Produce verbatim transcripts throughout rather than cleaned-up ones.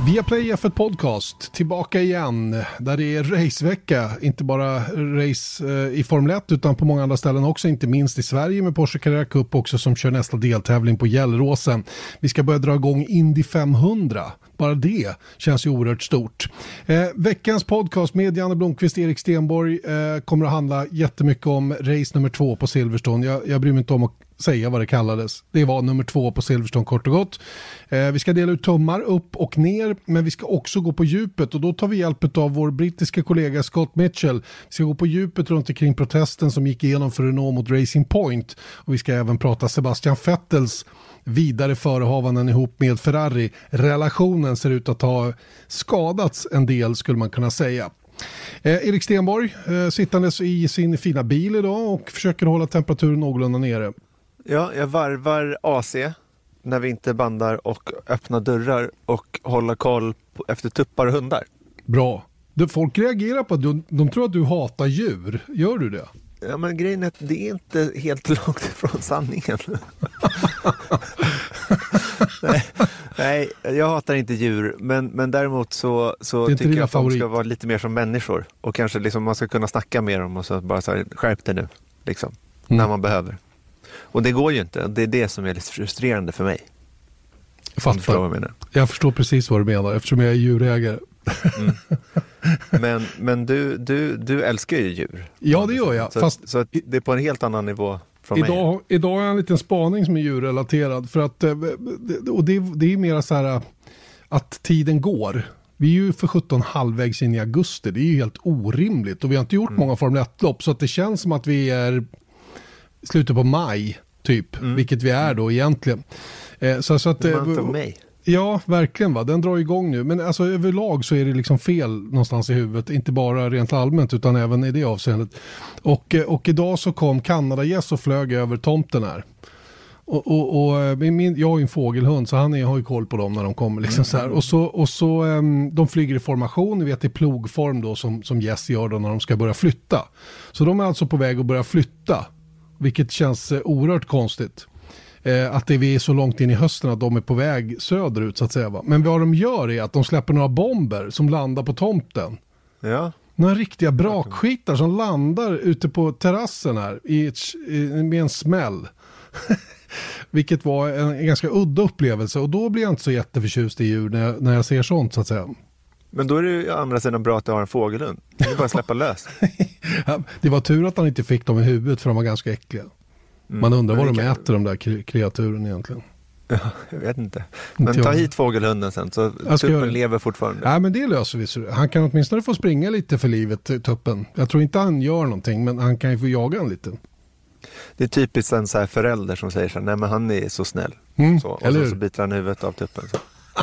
Viaplay F ett Podcast, tillbaka igen, där det är racevecka, inte bara race eh, i Formel ett utan på många andra ställen också, inte minst i Sverige med Porsche Carrera Cup också som kör nästa deltävling på Gelleråsen. Vi ska börja dra igång Indy femhundra. Bara det känns ju oerhört stort. Eh, veckans podcast med Janne Blomqvist, Erik Stenborg eh, kommer att handla jättemycket om race nummer två på Silverstone. Jag, jag bryr mig inte om att säga vad det kallades. Det var nummer två på Silverstone kort och gott. Eh, vi ska dela ut tummar upp och ner, men vi ska också gå på djupet och då tar vi hjälp av vår brittiska kollega Scott Mitchell. Vi ska gå på djupet runt omkring protesten som gick igenom för Renault mot Racing Point och vi ska även prata Sebastian Vettels vidare förehavanden ihop med Ferrari. Relationen ser ut att ha skadats en del skulle man kunna säga. Eh, Erik Stenborg eh, sittandes i sin fina bil idag och försöker hålla temperaturen någorlunda nere. Ja, jag varvar A C när vi inte bandar och öppnar dörrar och håller koll på, efter tuppar och hundar. Bra. Du, folk reagerar på att du, de tror att du hatar djur. Gör du det? Ja, men grejen är att det är inte helt långt ifrån sanningen. nej, nej, jag hatar inte djur, men, men däremot så, så tycker jag att favorit. De ska vara lite mer som människor. Och kanske liksom man ska kunna snacka med dem och så bara så här, skärp dig nu, liksom, mm. när man behöver. Och det går ju inte. Det är det som är lite frustrerande för mig. Jag fattar. Jag, menar. jag förstår precis vad du menar eftersom jag är djurägare. Mm. Men, men du, du, du älskar ju djur. Ja, det gör jag. Så, fast så det är på en helt annan nivå från idag, mig. Idag har jag en liten spaning som är djurrelaterad. För att, och det, det är mer så här att tiden går. Vi är ju för sjutton halvvägs in i augusti. Det är ju helt orimligt. Och vi har inte gjort mm. många Formel ett-lopp. Så att det känns som att vi är slutet på maj typ. Mm. Vilket vi är då egentligen. Eh, så, så att, month of May. Ja, verkligen va. Den drar igång nu. Men alltså överlag så är det liksom fel någonstans i huvudet. Inte bara rent allmänt utan även i det avseendet. Och, och idag så kom Kanada-gäss och flög över tomten här. Och, och, och min, jag har ju en fågelhund så han är, har ju koll på dem när de kommer. Liksom så här. Och så, och så um, de flyger i formation. Ni vet i plogform då som, som gäss gör då när de ska börja flytta. Så de är alltså på väg att börja flytta. Vilket känns eh, oerhört konstigt. Eh, att det vi är så långt in i hösten att de är på väg söderut så att säga va. Men vad de gör är att de släpper några bomber som landar på tomten. Ja. Några riktiga brakskitar som landar ute på terrassen här i ett, i, med en smäll. Vilket var en, en ganska udda upplevelse och då blir jag inte så jätteförtjust i djur när jag, när jag ser sånt så att säga. Men då är det ju andra sidan bra att du har en fågelhund. Det är bara släppa lös. Ja, det var tur att han inte fick dem i huvudet för de var ganska äckliga. Mm, Man undrar vad de kan... äter de där kreaturen egentligen. Ja, jag vet inte. Men inte ta hit fågelhunden sen så tuppen lever fortfarande. Ja, men det löser vi. Så han kan åtminstone få springa lite för livet, tuppen. Jag tror inte han gör någonting, men han kan ju få jaga en lite. Det är typiskt en så här förälder som säger så här, nej men han är så snäll. Mm, så, och så, så biter han huvudet av tuppen. Så.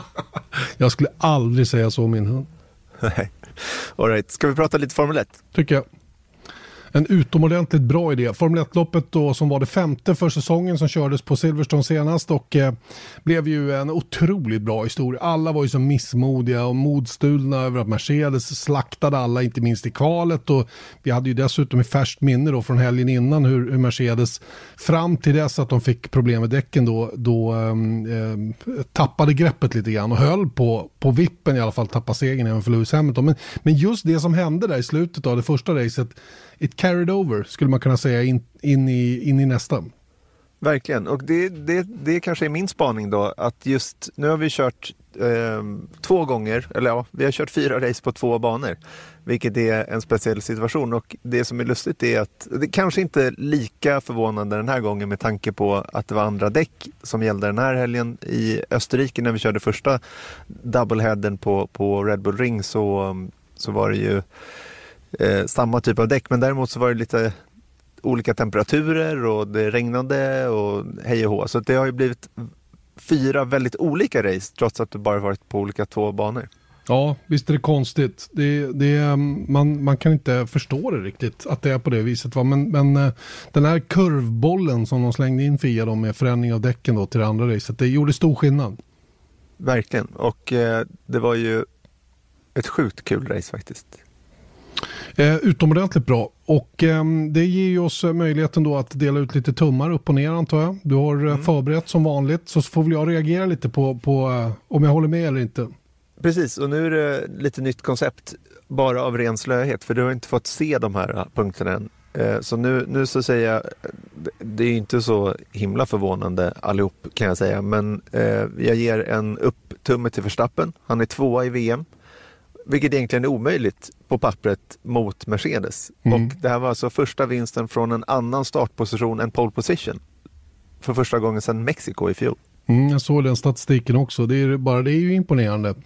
Jag skulle aldrig säga så om min hund. Nej. All right. Ska vi prata lite Formel ett? Tycker jag. En utomordentligt bra idé. Formel ett-loppet då som var det femte för säsongen som kördes på Silverstone senast och eh, blev ju en otroligt bra historia. Alla var ju så missmodiga och modstulna över att Mercedes slaktade alla, inte minst i kvalet och vi hade ju dessutom i färskt minne då från helgen innan hur, hur Mercedes fram till dess att de fick problem med däcken då, då eh, tappade greppet lite grann och höll på, på vippen i alla fall tappa segern även för Lewis Hamilton. Men, men just det som hände där i slutet av det första racet it carried over, skulle man kunna säga, in, in, i, in i nästa. Verkligen, och det, det, det kanske är min spaning då, att just nu har vi kört eh, två gånger, eller ja, vi har kört fyra race på två banor, vilket är en speciell situation och det som är lustigt är att det kanske inte är lika förvånande den här gången med tanke på att det var andra däck som gällde den här helgen i Österrike när vi körde första doubleheaden på, på Red Bull Ring så, så var det ju Eh, samma typ av däck, men däremot så var det lite olika temperaturer och det regnade och hej och hå. Så det har ju blivit fyra väldigt olika race trots att det bara varit på olika två banor. Ja, visst är det konstigt. Det, det, man, man kan inte förstå det riktigt att det är på det viset. Va? Men, men den här kurvbollen som de slängde in Fia då med förändring av däcken då till det andra racet, det gjorde stor skillnad. Verkligen, och eh, det var ju ett sjukt kul race faktiskt. Eh, utomordentligt bra och eh, det ger ju oss möjligheten då att dela ut lite tummar upp och ner antar jag. Du har mm. förberett som vanligt så får väl jag reagera lite på, på eh, om jag håller med eller inte. Precis, och nu är det lite nytt koncept bara av ren slöhet, för du har inte fått se de här punkterna än. Så nu, nu så säger jag, det är inte så himla förvånande allihop kan jag säga, men eh, jag ger en upptumme till Verstappen. Han är tvåa i V M, vilket egentligen är omöjligt på pappret mot Mercedes. Mm. Och det här var alltså första vinsten från en annan startposition än pole position för första gången sedan Mexiko i fjol. Mm, jag såg den statistiken också. Det är, bara det är ju imponerande.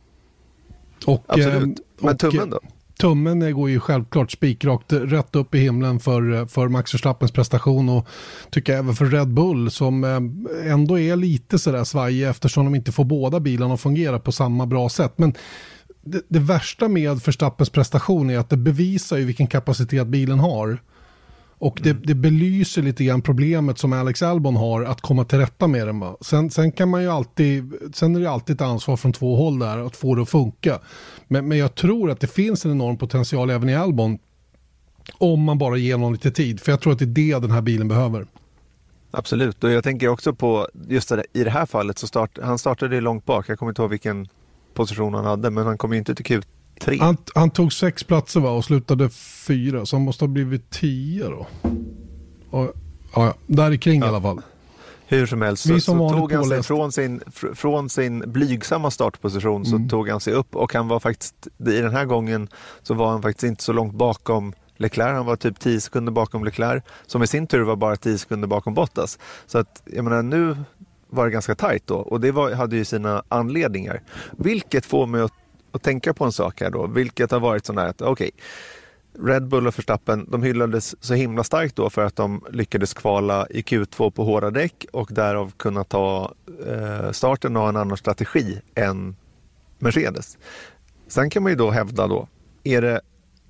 Och, absolut. Men och, tummen då? Tummen går ju självklart spikrakt rätt upp i himlen för, för Max Verstappens prestation, och tycker jag även för Red Bull som ändå är lite sådär svajig eftersom de inte får båda bilarna att fungera på samma bra sätt. Men det, det värsta med Verstappens prestation är att det bevisar ju vilken kapacitet bilen har. Och det, det belyser lite grann problemet som Alex Albon har att komma till rätta med den. Sen, sen kan man ju alltid, sen är det alltid ett ansvar från två håll där att få det att funka. Men, men jag tror att det finns en enorm potential även i Albon om man bara ger någon lite tid. För jag tror att det är det den här bilen behöver. Absolut, och jag tänker också på just det, i det här fallet så start, han startade långt bak. Jag kommer inte ihåg vilken position han hade, men han kom ju inte till Q tre. Han, han tog sex platser va, och slutade fyra, så han måste ha blivit tio då. Och, ja, där i kring ja. I alla fall. Hur som helst så, så tog han sig från sin, fr- från sin blygsamma startposition så mm. tog han sig upp, och han var faktiskt, i den här gången så var han faktiskt inte så långt bakom Leclerc. Han var typ tio sekunder bakom Leclerc, som i sin tur var bara tio sekunder bakom Bottas. Så att, jag menar, nu var det ganska tajt då, och det var, hade ju sina anledningar. Vilket får mig att, att tänka på en sak här då, vilket har varit sån här att okej, okay, Red Bull och Verstappen, de hyllades så himla starkt då för att de lyckades kvala i Q två på hårda däck och därav kunna ta eh, starten och ha en annan strategi än Mercedes. Sen kan man ju då hävda då, är det,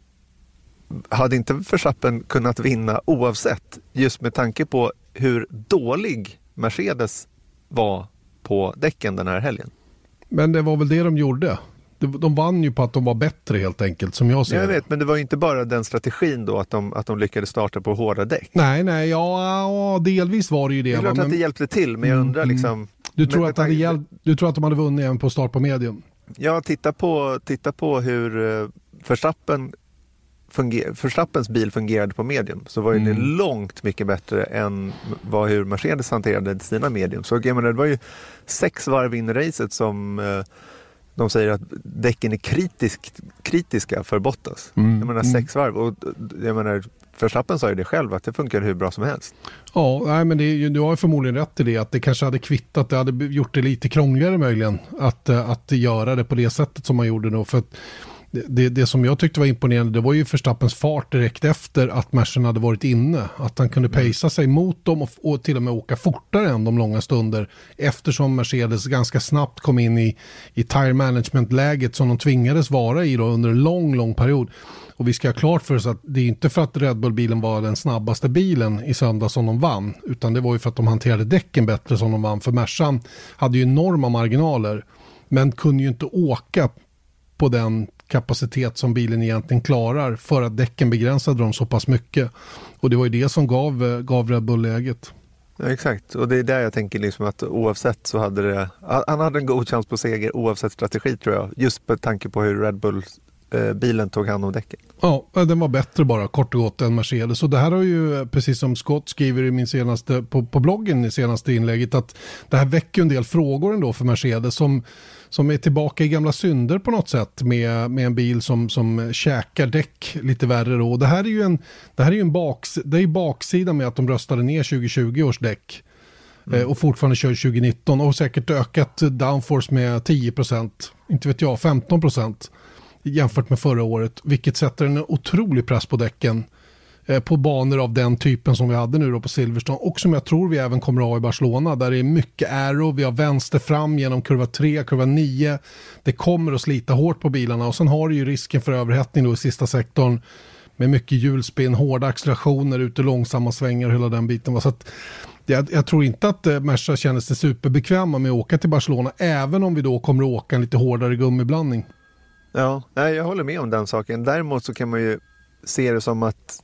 hade inte Verstappen kunnat vinna oavsett, just med tanke på hur dålig Mercedes var på däcken den här helgen? Men det var väl det de gjorde. De vann ju på att de var bättre helt enkelt, som jag ser jag det. vet, men det var ju inte bara den strategin då att de, att de lyckades starta på hårda däck. Nej, nej, ja, ja delvis var det ju det. Det är klart men, att det hjälpte till, men jag undrar mm, liksom... Du tror, men, att hade hjälpt, du tror att de hade vunnit även på start på medium? Ja, titta på, titta på hur uh, Verstappen funger, Verstappens bil fungerade på medium, så var ju mm. det långt mycket bättre än vad hur Mercedes hanterade sina medium. Så jag menar, det var ju sex varv in i racet som... Uh, de säger att däcken är kritisk, kritiska för Bottas. Mm. Jag menar sex varv. Och jag menar, Verstappen sa ju det själv att det funkar hur bra som helst. Ja, nej, men det är, du har förmodligen rätt i det. Att det kanske hade kvittat, det hade gjort det lite krångligare möjligen. Att, att göra det på det sättet som man gjorde då. För att det, det som jag tyckte var imponerande, det var ju Verstappens fart direkt efter att Mersen hade varit inne. Att han kunde pacea sig mot dem och, och till och med åka fortare än de långa stunder. Eftersom Mercedes ganska snabbt kom in i, i tire management-läget som de tvingades vara i då under en lång, lång period. Och vi ska ha klart för oss att det är inte för att Red Bull-bilen var den snabbaste bilen i söndag som de vann. Utan det var ju för att de hanterade däcken bättre som de vann. För Mersan hade ju enorma marginaler, men kunde ju inte åka på den kapacitet som bilen egentligen klarar för att däcken begränsade dem så pass mycket. Och det var ju det som gav, gav Red Bull läget. Ja, exakt, och det är där jag tänker liksom att oavsett så hade det, han hade en god chans på seger oavsett strategi tror jag, just på tanke på hur Red Bull eh, bilen tog hand om däcken. Ja, den var bättre bara kort och gott än Mercedes. Och det här har ju, precis som Scott skriver i min senaste, på, på bloggen i senaste inlägget, att det här väcker en del frågor ändå för Mercedes som som är tillbaka i gamla synder på något sätt med, med en bil som, som käkar däck lite värre då. Och det här är ju en, det här är ju en baks, det är baksidan med att de röstade ner tjugo tjugo års däck mm. eh, och fortfarande kör tjugo nitton och säkert ökat downforce med tio procent, inte vet jag, femton procent jämfört med förra året, vilket sätter en otrolig press på däcken på banor av den typen som vi hade nu då på Silverstone och som jag tror vi även kommer att ha i Barcelona, där det är mycket aero, vi har vänster fram genom kurva tre, kurva nio, det kommer att slita hårt på bilarna och sen har du ju risken för överhettning då i sista sektorn med mycket hjulspinn, hårda accelerationer, ute långsamma svängar och hela den biten. Så att jag, jag tror inte att eh, Merca känner sig superbekväma med att åka till Barcelona, även om vi då kommer att åka en lite hårdare gummiblandning. Ja, nej, jag håller med om den saken. Däremot så kan man ju se det som att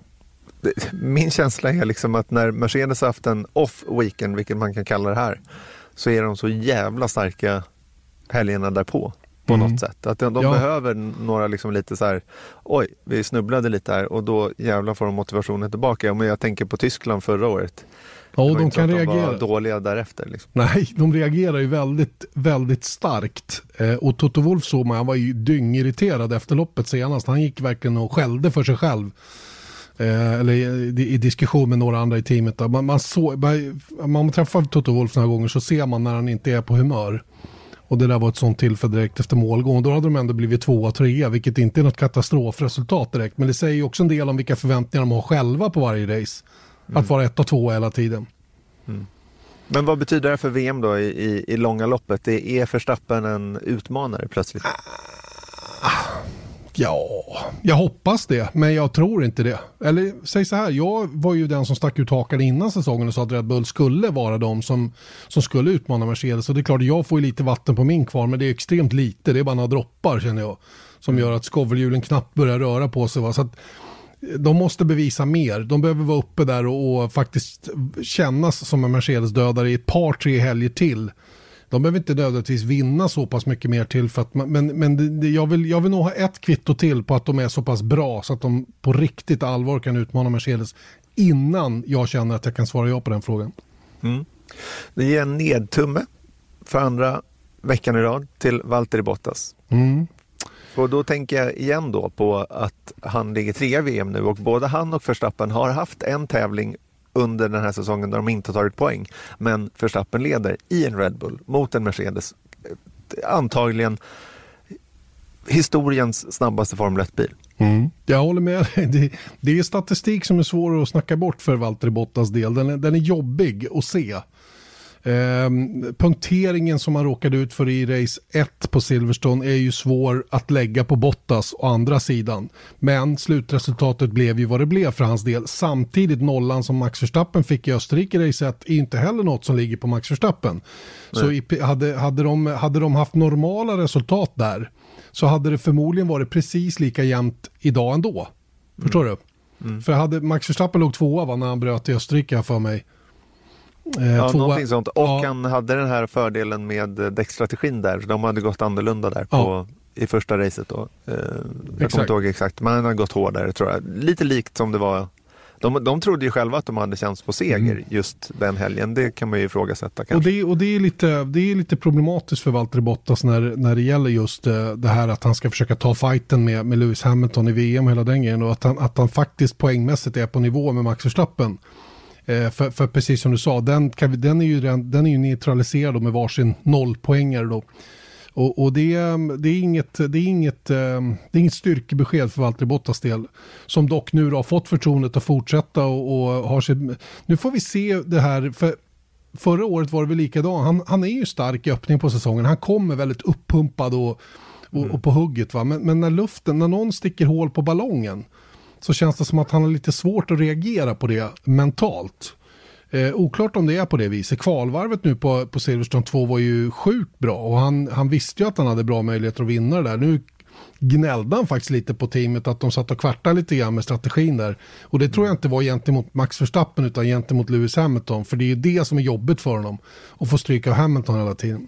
min känsla är liksom att när Mercedes har haft en off-weekend, vilket man kan kalla det här, så är de så jävla starka helgerna därpå. på Mm. något sätt. Att de, de Ja. behöver några liksom lite så här, oj, vi snubblade lite här och då jävlar får de motivationen tillbaka. Men jag tänker på Tyskland förra året. Ja, Det och var de inte så kan att de reagera. var dåliga därefter. Liksom. Nej, de reagerar ju väldigt, väldigt starkt. Eh, och Toto Wolff såg man, han var ju dyngirriterad efter loppet senast. Han gick verkligen och skällde för sig själv. Eh, eller i, i diskussion med några andra i teamet. Då. Man, man, så, man, man träffar Toto Wolff några gånger så ser man när han inte är på humör. Och det där var ett sånt tillfälle direkt efter målgång. Då hade de ändå blivit tvåa, trea, vilket inte är något katastrofresultat direkt. Men det säger ju också en del om vilka förväntningar de har själva på varje race. Mm. Att vara ett och två hela tiden. Mm. Men vad betyder det för V M då i, i, i långa loppet? Det är Verstappen en utmanare plötsligt? Ja, jag hoppas det, men jag tror inte det. Eller säg så här, jag var ju den som stack ut hakan innan säsongen och sa att Red Bull skulle vara de som, som skulle utmana Mercedes. Och det är klart, jag får ju lite vatten på min kvar, men det är extremt lite. Det är bara några droppar känner jag, som gör att skovelhjulen knappt börjar röra på sig. Va? Så att de måste bevisa mer. De behöver vara uppe där och, och faktiskt kännas som en Mercedes-dödare i ett par, tre helger till. De behöver inte nödvändigtvis vinna så pass mycket mer till. För att man, men men det, det, jag, vill, jag vill nog ha ett kvitto till på att de är så pass bra så att de på riktigt allvar kan utmana Mercedes innan jag känner att jag kan svara ja på den frågan. Mm. Det ger en nedtumme för andra veckan i rad till Valtteri Bottas. Mm. Och då tänker jag igen då på att han ligger trea i V M nu och både han och Verstappen har haft en tävling under den här säsongen där de inte tagit poäng. Men Verstappen leder i en Red Bull mot en Mercedes. Antagligen historiens snabbaste Formel ett-bil. Mm. Jag håller med. Det, det är statistik som är svår att snacka bort för Valtteri Bottas del. Den är, den är jobbig att se. Eh, punkteringen som han råkade ut för i race ett på Silverstone är ju svår att lägga på Bottas och andra sidan. Men slutresultatet blev ju vad det blev för hans del. Samtidigt nollan som Max Verstappen fick i Österrike race ett är inte heller något som ligger på Max Verstappen. Så i, hade, hade, de, hade de haft normala resultat där så hade det förmodligen varit precis lika jämnt idag ändå. Förstår mm. du? Mm. För hade Max Verstappen låg tvåa va, när han bröt i Österrike för mig. Eh, ja, tvåa. någonting sånt. Och ja. han hade den här fördelen med däckstrategin där. Så de hade gått annorlunda där på, ja. i första racet då. Eh, jag exakt. kommer inte ihåg exakt, men han hade gått hårdare tror jag. Lite likt som det var. De, de trodde ju själva att de hade chans på seger mm. just den helgen. Det kan man ju ifrågasätta kanske. Och det, och det, är, lite, det är lite problematiskt för Valtteri Bottas när, när det gäller just det här att han ska försöka ta fighten med, med Lewis Hamilton i V M och hela den grejen. Och att han, att han faktiskt poängmässigt är på nivå med Max Verstappen. Eh, för, för precis som du sa, den, kan vi, den, är ju, den är ju neutraliserad med varsin nollpoängare då. Och, och det, det är inget, det är inget, det är inget styrkebesked för Valtteri Bottas del. Som dock nu har fått förtroendet att fortsätta och, och har sig, nu får vi se det här, för förra året var det väl likadant. Han, han är ju stark i öppning på säsongen. Han kommer väldigt uppumpad och, och, mm. och på hugget va. Men, men när luften, när någon sticker hål på ballongen så känns det som att han har lite svårt att reagera på det mentalt. Eh, oklart om det är på det viset. Kvalvarvet nu på, på Silverstone två var ju sjukt bra och han, han visste ju att han hade bra möjligheter att vinna det där. Nu gnällde han faktiskt lite på teamet att de satt och kvartade lite grann med strategin där. Och det tror jag inte var gentemot Max Verstappen utan gentemot Lewis Hamilton. För det är ju det som är jobbigt för honom. Att få stryka av Hamilton hela tiden.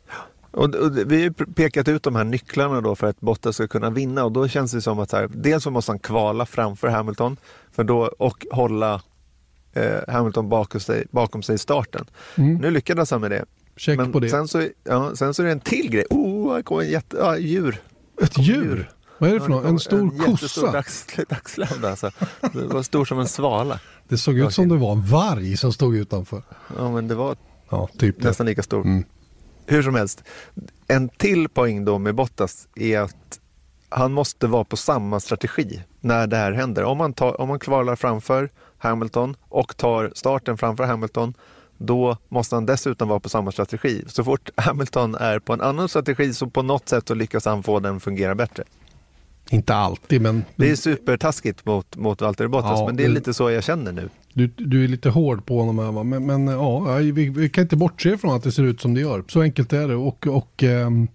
Och, och vi har pekat ut de här nycklarna då för att Bottas ska kunna vinna och då känns det som att så här, dels så måste han kvala framför Hamilton för då, och hålla eh, Hamilton bakom sig, bakom sig i starten. Mm. Nu lyckades han med det. Check Men på det. Sen så, ja, sen så är det en till grej. Oh, kom en jätte, ja, djur. Ett djur? djur? Vad är det för något? En stor en kossa? Dags, dagslämda alltså. Det var stor som en svala. Det såg ut okay. som det var en varg som stod utanför. Ja, men det var ja, typ nästan lika stor. Mm. Hur som helst, en till poäng då med Bottas är att han måste vara på samma strategi när det här händer. Om man, tar, om man kvalar framför Hamilton och tar starten framför Hamilton, då måste han dessutom vara på samma strategi. Så fort Hamilton är på en annan strategi så på något sätt så lyckas han få den fungera bättre. Inte alltid, men... Det är supertaskigt mot, mot Valtteri Bottas, ja, men det är det... lite så jag känner nu. Du, du är lite hård på honom här, va? Men, men ja, vi, vi kan inte bortse från att det ser ut som det gör. Så enkelt är det. Och, och um,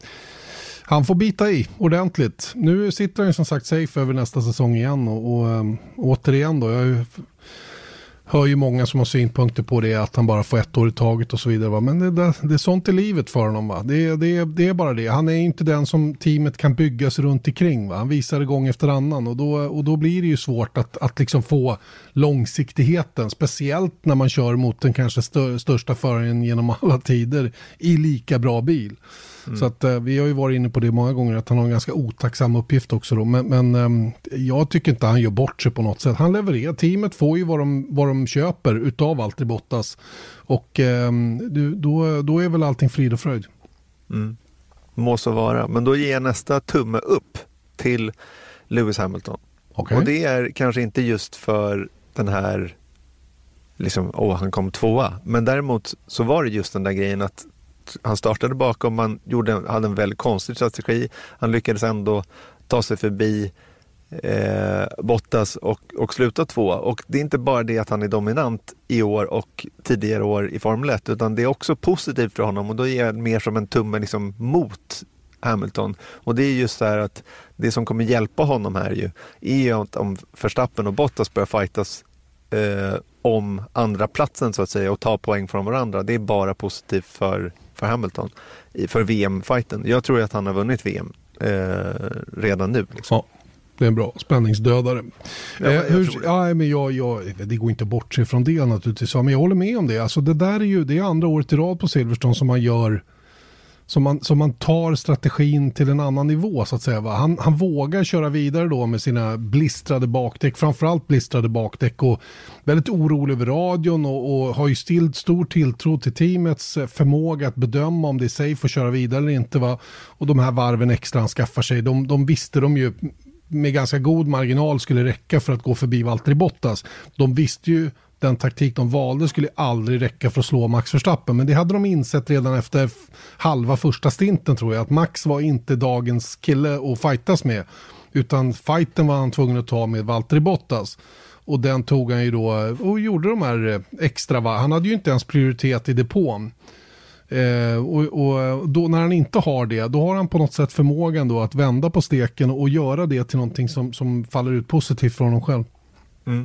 han får bita i ordentligt. Nu sitter han som sagt safe över nästa säsong igen. Och, och um, återigen då, jag har ju hör ju många som har synpunkter på det, att han bara får ett år i taget och så vidare. Va? Men det, det, det är sånt i livet för honom. Va? Det, det, det är bara det. Han är inte den som teamet kan byggas runt omkring. Va? Han visar det gång efter annan och då, och då blir det ju svårt att, att liksom få långsiktigheten. Speciellt när man kör mot den kanske stö, största föraren genom alla tider i lika bra bil. Mm. Så att eh, vi har ju varit inne på det många gånger, att han har en ganska otacksam uppgift också då. Men, men eh, jag tycker inte han gör bort sig på något sätt. Han levererar. Teamet får ju vad de, vad de köper utav Valtteri Bottas. Och eh, då, då är väl allting frid och fröjd. Mm. Må så vara. Men då ger jag nästa tumme upp till Lewis Hamilton. Okay. Och det är kanske inte just för den här liksom, åh, han kom tvåa. Men däremot så var det just den där grejen att han startade bakom, man gjorde, hade en väldigt konstig strategi. Han lyckades ändå ta sig förbi eh, Bottas och, och sluta tvåa. Och det är inte bara det att han är dominant i år och tidigare år i Formel ett, utan det är också positivt för honom. Och då är det mer som en tumme liksom mot Hamilton. Och det är just så här att det som kommer hjälpa honom här ju är ju att om Verstappen och Bottas börjar fightas eh, om andra platsen så att säga och ta poäng från varandra. Det är bara positivt för, för Hamilton för V M-fighten. Jag tror att han har vunnit V M eh, redan nu. Liksom. Ja, det är en bra spänningsdödare. Ja, eh, hur, ja, men jag, jag, det går inte bort sig från det naturligtvis. Men jag håller med om det. Alltså, det där är ju det är andra året i rad på Silverstone som man gör Som man, som man tar strategin till en annan nivå så att säga. Va? Han, han vågar köra vidare då med sina blistrade bakdäck, framförallt blistrade bakdäck och väldigt orolig över radion och, och har ju still stor tilltro till teamets förmåga att bedöma om det är safe att köra vidare eller inte. Va? Och de här varven extra han skaffar sig, de, de visste de ju med ganska god marginal skulle räcka för att gå förbi Valtteri Bottas. De visste ju den taktik de valde skulle aldrig räcka för att slå Max Verstappen. Men det hade de insett redan efter halva första stinten tror jag. Att Max var inte dagens kille att fightas med. Utan fighten var han tvungen att ta med Valtteri Bottas. Och den tog han ju då och gjorde de här extra. Han hade ju inte ens prioritet i depån. Eh, och, och då när han inte har det, då har han på något sätt förmågan då att vända på steken och göra det till någonting som, som faller ut positivt för honom själv. Mm.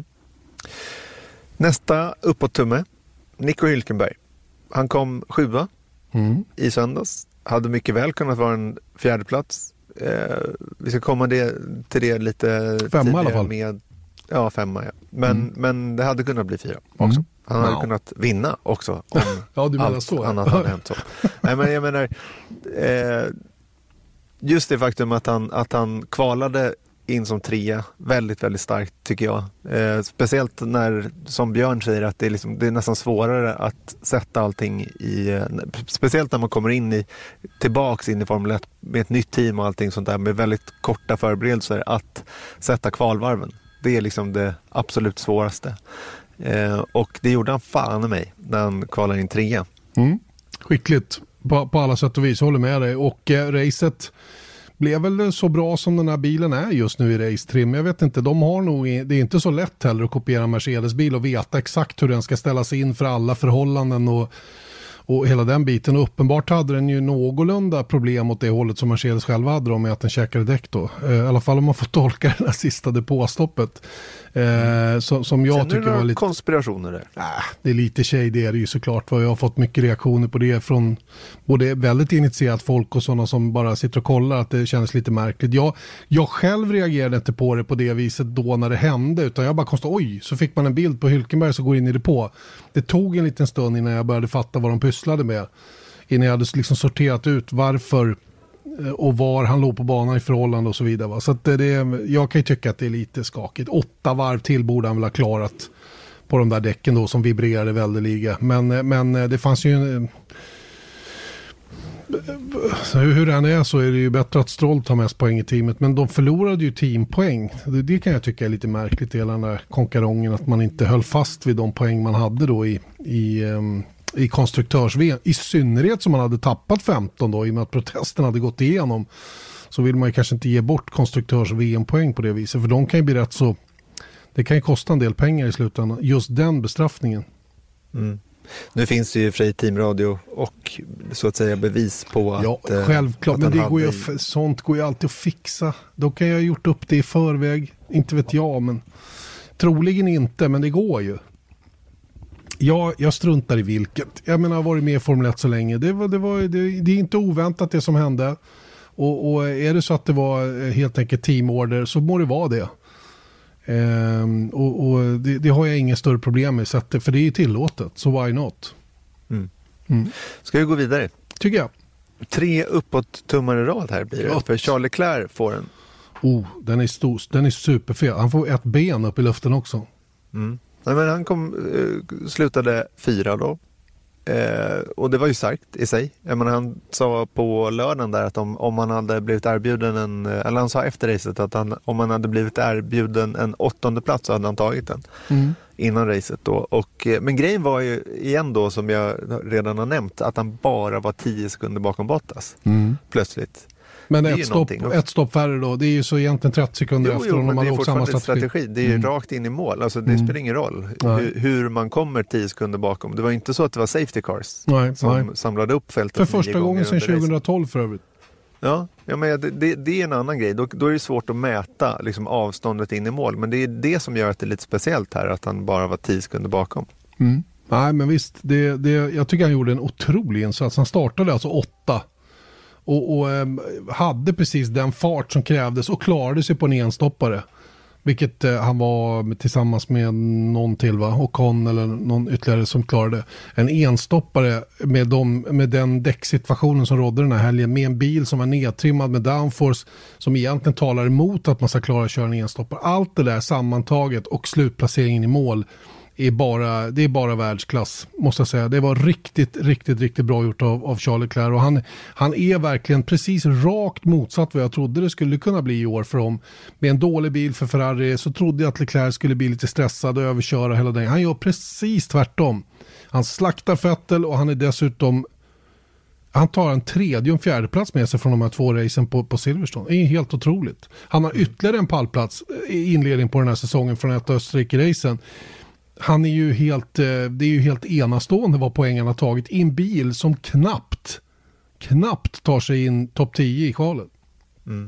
Nästa uppåt-tumme, Nico Hülkenberg. Han kom sjua mm. i söndags. Hade mycket väl kunnat vara en fjärde plats. Eh, vi ska komma det, till det lite femma i alla fall. Med, ja, femma. Ja. Men, mm. men det hade kunnat bli fyra också. Mm. Han hade no. kunnat vinna också om ja, du menar allt så. annat hade hänt så. Nej, men jag menar, eh, just det faktum att han, att han kvalade in som trea, väldigt, väldigt starkt tycker jag. Eh, speciellt när, som Björn säger, att det är, liksom, det är nästan svårare att sätta allting i, eh, speciellt när man kommer in i, tillbaks in i Formel ett med ett nytt team och allting sånt där, med väldigt korta förberedelser, att sätta kvalvarven. Det är liksom det absolut svåraste. Eh, och det gjorde han fan i mig när han kvalade in trea. Mm. Skickligt på, på alla sätt och vis, håller med dig. Och eh, racet blev väl så bra som den här bilen är just nu i race trim. Jag vet inte, de har nog, det är inte så lätt heller att kopiera en Mercedes-bil och veta exakt hur den ska ställas in för alla förhållanden och, och hela den biten. Och uppenbart hade den ju någorlunda problem åt det hållet som Mercedes själva hade då, med att den käkade däck då. I alla fall om man får tolka det här sista depåstoppet. Eh, som, som jag Känner tycker var lite konspirationer där? Äh, det är lite tjej, det är det ju såklart. Jag har fått mycket reaktioner på det från både väldigt initierat folk och sådana som bara sitter och kollar, att det känns lite märkligt. Jag, jag själv reagerade inte på det på det viset då när det hände, utan jag bara konstaterade, oj, så fick man en bild på Hülkenberg som går in i det på. Det tog en liten stund innan jag började fatta vad de pysslade med. Innan jag hade liksom sorterat ut varför och var han låg på banan i förhållande och så vidare. Va? Så att det, jag kan ju tycka att det är lite skakigt. Åtta varv till borde han väl ha klarat på de där däcken då som vibrerade väldigt. Men, men det fanns ju en, hur den är så är det ju bättre att Stroll tar mest poäng i teamet, men de förlorade ju teampoäng. Det, det kan jag tycka är lite märkligt, hela den där konkarongen, att man inte höll fast vid de poäng man hade då i, i um, i konstruktörs-V M, i synnerhet som man hade tappat femton då, i och med att protesten hade gått igenom, så vill man ju kanske inte ge bort konstruktörs-V M-poäng på det viset, för de kan ju bli rätt så, det kan ju kosta en del pengar i slutändan, just den bestraffningen. Mm. Nu finns det ju fri teamradio och så att säga bevis på att... Ja, självklart, att men det går ju, i... sånt går ju alltid att fixa. Då kan jag ha gjort upp det i förväg, inte vet jag, men troligen inte, men det går ju. Ja, jag struntar i vilket. Jag menar, jag har varit med i Formel ett så länge. Det, var, det, var, det, det är inte oväntat det som hände. Och, och är det så att det var helt enkelt teamorder så må det vara det. Ehm, och och det, det har jag inga större problem med. Så att, för det är ju tillåtet, så why not? Mm. Mm. Ska vi gå vidare? Tycker jag. Tre uppåt tummar i rad här blir det. Ja. För Charles Leclerc får en. Oh, den är stor, den är superfel. Han får ett ben upp i luften också. Mm. Nej, men han kom, eh, slutade fyra då. Eh, och det var ju starkt i sig. Jag menar, han sa på lördagen där att om, om man hade blivit erbjuden en, eller han sa efter racet att han, om man hade blivit erbjuden en åttonde plats så hade han tagit den mm. innan racet då. Och, men grejen var ju igen då, som jag redan har nämnt, att han bara var tio sekunder bakom Bottas. Mm. Plötsligt. Men ett stopp, ett stopp färre då, det är ju så egentligen trettio sekunder jo, efter jo, om man har åkt samma strategi. strategi. Det är ju mm. rakt in i mål, alltså det mm. spelar ingen roll hur, hur man kommer tio sekunder bakom. Det var inte så att det var safety cars nej, som nej. samlade upp fältet. För första gången sedan tjugohundratolv för övrigt. Ja, ja men det, det, det är en annan grej. Då, då är det svårt att mäta liksom, avståndet in i mål. Men det är det som gör att det är lite speciellt här, att han bara var tio sekunder bakom. Mm. Nej, men visst, det, det, jag tycker han gjorde en otrolig insats. Han startade alltså åtta. Och, och eh, hade precis den fart som krävdes och klarade sig på en enstoppare. Vilket eh, han var tillsammans med någon till va? Och Con eller någon ytterligare som klarade. En enstoppare med, de, med den däcksituationen som rådde den här helgen. Med en bil som var nedtrimmad med downforce. Som egentligen talar emot att man ska klara att köra en enstoppare. Allt det där sammantaget och slutplaceringen i mål. Är bara, det är bara världsklass måste jag säga. Det var riktigt, riktigt, riktigt bra gjort av, av Charles Leclerc och han, han är verkligen precis rakt motsatt vad jag trodde det skulle kunna bli i år för dem. Med en dålig bil för Ferrari så trodde jag att Leclerc skulle bli lite stressad och överköra hela den. Han gör precis tvärtom. Han slaktar Vettel och han är dessutom han tar en tredje och en fjärde plats med sig från de här två racen på, på Silverstone. Det är helt otroligt. Han har ytterligare en pallplats i inledning på den här säsongen från ett Österrike-racen. Han är ju helt, det är ju helt enastående vad poängen har tagit i en bil som knappt, knappt tar sig in topp tio i kvalet. Mm.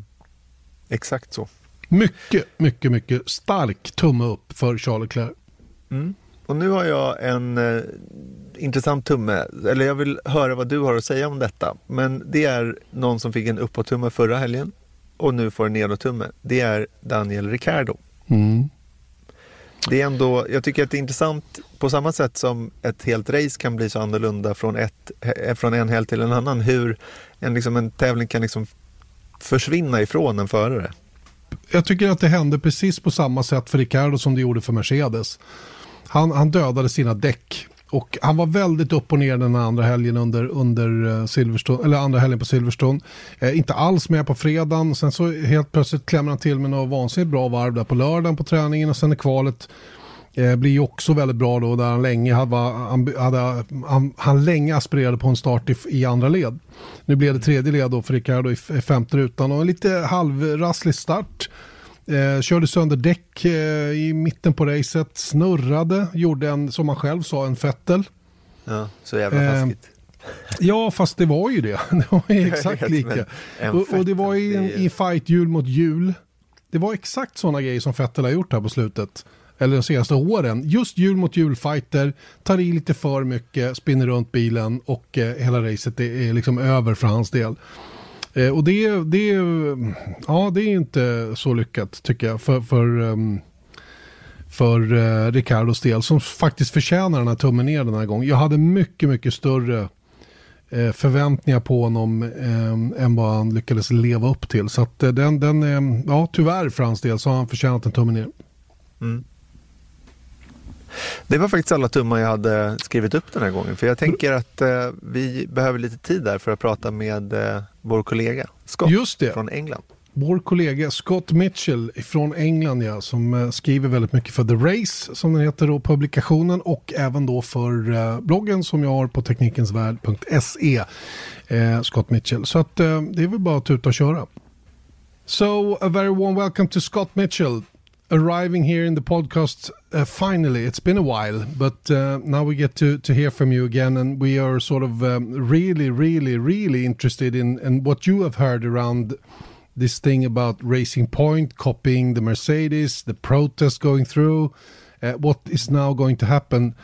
Exakt så. Mycket, mycket, mycket stark tumme upp för Charles Leclerc. Mm. Och nu har jag en eh, intressant tumme, eller jag vill höra vad du har att säga om detta. Men det är någon som fick en uppåt-tumme förra helgen och nu får en nedåt-tumme. Det är Daniel Ricciardo. Mm. Det är ändå, jag tycker att det är intressant på samma sätt som ett helt race kan bli så annorlunda från, ett, från en helg till en annan. Hur en, liksom, en tävling kan liksom försvinna ifrån en förare. Jag tycker att det hände precis på samma sätt för Ricciardo som det gjorde för Mercedes. Han, han dödade sina däck. Och han var väldigt upp och ner den andra helgen under, under Silverstone, eller andra helgen på Silverstone. Eh, inte alls med på fredagen. Sen så helt plötsligt klämmer han till med något vansinnigt bra varv där på lördagen på träningen. Och sen är kvalet eh, blir ju också väldigt bra då. Där han länge, hade, han, hade, han, han länge aspirerade på en start i, i andra led. Nu blev det tredje led då för Ricciardo i femte rutan. Och en lite halvrasslig start. Eh, körde sönder däck eh, i mitten på racet, snurrade, gjorde en, som man själv sa, en Vettel. Ja, så jävla taskigt. Eh, ja, fast det var ju det. Det var ju exakt lika. Och, och det var i, en, i fight hjul mot hjul. Det var exakt sådana grejer som Vettel har gjort här på slutet. Eller de senaste åren. Just hjul mot hjul fighter, tar i lite för mycket, spinner runt bilen och eh, hela racet är, är liksom över för hans del. Eh, och det, det, ja, det är inte så lyckat tycker jag för, för, um, för uh, Ricciardos del som faktiskt förtjänar den här tummen ner den här gången. Jag hade mycket, mycket större eh, förväntningar på honom eh, än vad han lyckades leva upp till. Så att eh, den, den eh, ja, tyvärr för hans del så har han förtjänat en tummen ner. Mm. Det var faktiskt alla tummar jag hade skrivit upp den här gången. För jag tänker att eh, vi behöver lite tid där för att prata med eh, vår kollega Scott Just det. från England. Vår kollega Scott Mitchell från England ja, som eh, skriver väldigt mycket för The Race som den heter då, publikationen och även då för eh, bloggen som jag har på teknikensvärld punkt se eh, Scott Mitchell. Så att eh, det är väl bara att tuta och köra. So a very warm welcome to Scott Mitchell. Arriving here in the podcast uh, finally. It's been a while, but uh, now we get to, to hear from you again, and we are sort of um, really, really, really interested in, in what you have heard around this thing about Racing Point, copying the Mercedes, the protest going through, uh, what is now going to happen.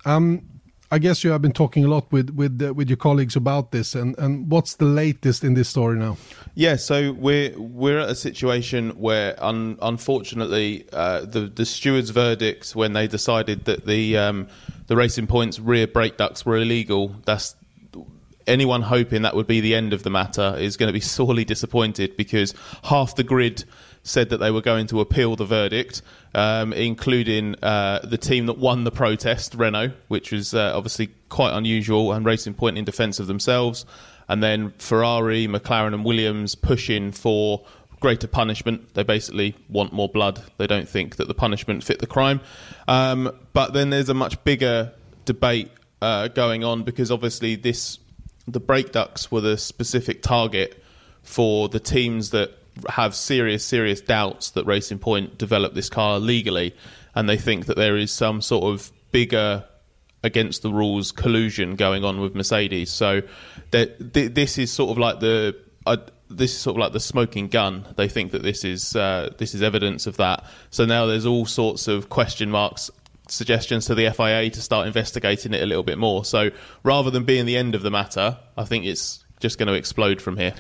Um, I guess you have been talking a lot with with uh, with your colleagues about this, and, and what's the latest in this story now? Yeah, so we're we're at a situation where, un, unfortunately, uh, the the stewards' verdict when they decided that the um, the Racing Point's rear brake ducts were illegal. That's anyone hoping that would be the end of the matter is going to be sorely disappointed, because half the grid said that they were going to appeal the verdict, um, including uh, the team that won the protest, Renault, which was uh, obviously quite unusual, and Racing Point in defence of themselves. And then Ferrari, McLaren and Williams pushing for greater punishment. They basically want more blood. They don't think that the punishment fit the crime. Um, but then there's a much bigger debate uh, going on, because obviously this the brake ducts were the specific target for the teams that have serious, serious doubts that Racing Point developed this car legally, and they think that there is some sort of bigger against the rules collusion going on with Mercedes. So that th- this is sort of like the uh, this is sort of like the smoking gun. They think that this is uh, this is evidence of that. So now there's all sorts of question marks, suggestions to the F I A to start investigating it a little bit more. So rather than being the end of the matter, I think it's just going to explode from here.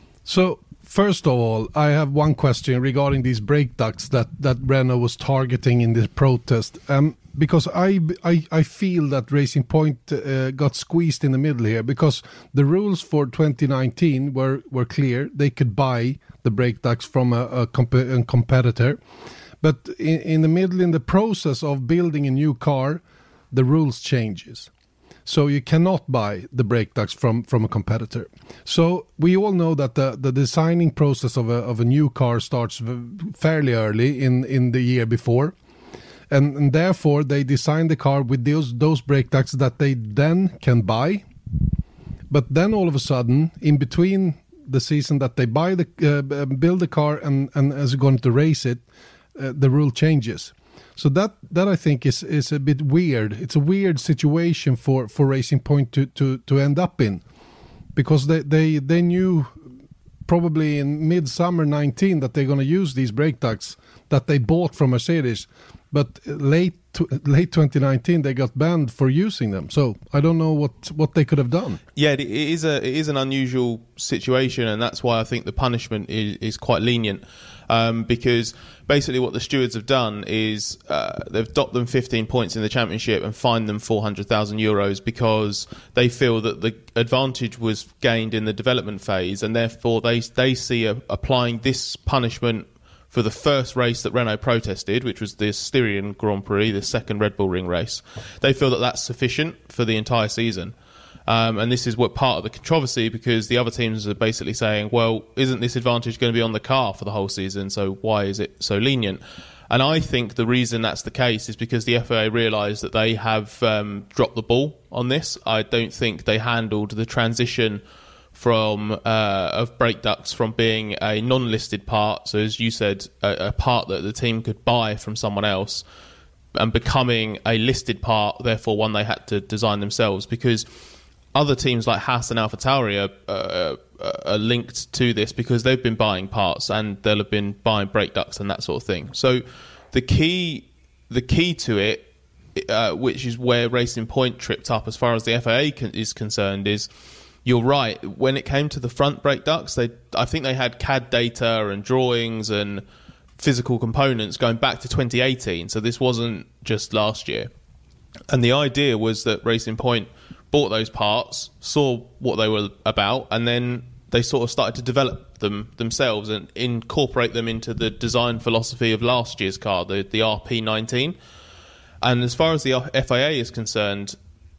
So first of all, I have one question regarding these brake ducts that, that Renault was targeting in this protest. Um, because I, I, I feel that Racing Point uh, got squeezed in the middle here, because the rules for twenty nineteen were, were clear. They could buy the brake ducts from a, a, comp- a competitor. But in, in the middle, in the process of building a new car, the rules changes. So you cannot buy the brake ducts from, from a competitor. So we all know that the, the designing process of a of a new car starts fairly early in, in the year before. And, and therefore, they design the car with those, those brake ducts that they then can buy. But then all of a sudden, in between the season that they buy the uh, build the car and, and as going to race it, uh, the rule changes. So that, that I think is, is a bit weird. It's a weird situation for, for Racing Point to, to, to end up in, because they, they, they knew probably in midsummer nineteen that they're going to use these brake ducts that they bought from Mercedes, but late late twenty nineteen they got banned for using them. So I don't know what, what they could have done. Yeah, it is a it is an unusual situation, and that's why I think the punishment is, is quite lenient. Um, because basically what the stewards have done is uh, they've docked them fifteen points in the championship and fined them four hundred thousand euros because they feel that the advantage was gained in the development phase, and therefore they they see a, applying this punishment for the first race that Renault protested, which was the Styrian Grand Prix, the second Red Bull Ring race. They feel that that's sufficient for the entire season. Um, and this is what part of the controversy, because the other teams are basically saying, well, isn't this advantage going to be on the car for the whole season? So why is it so lenient? And I think the reason that's the case is because the F I A realised that they have um, dropped the ball on this. I don't think they handled the transition from uh, of brake ducts from being a non-listed part, so as you said, a, a part that the team could buy from someone else, and becoming a listed part, therefore one they had to design themselves, because other teams like Haas and AlphaTauri are, uh, are linked to this because they've been buying parts and they'll have been buying brake ducts and that sort of thing. So the key, the key to it, uh, which is where Racing Point tripped up as far as the F I A con- is concerned, is you're right. When it came to the front brake ducts, they I think they had C A D data and drawings and physical components going back to twenty eighteen. So this wasn't just last year. And the idea was that Racing Point bought those parts, saw what they were about, and then they sort of started to develop them themselves and incorporate them into the design philosophy of last year's car, the, the R P nineteen. And as far as the F I A is concerned,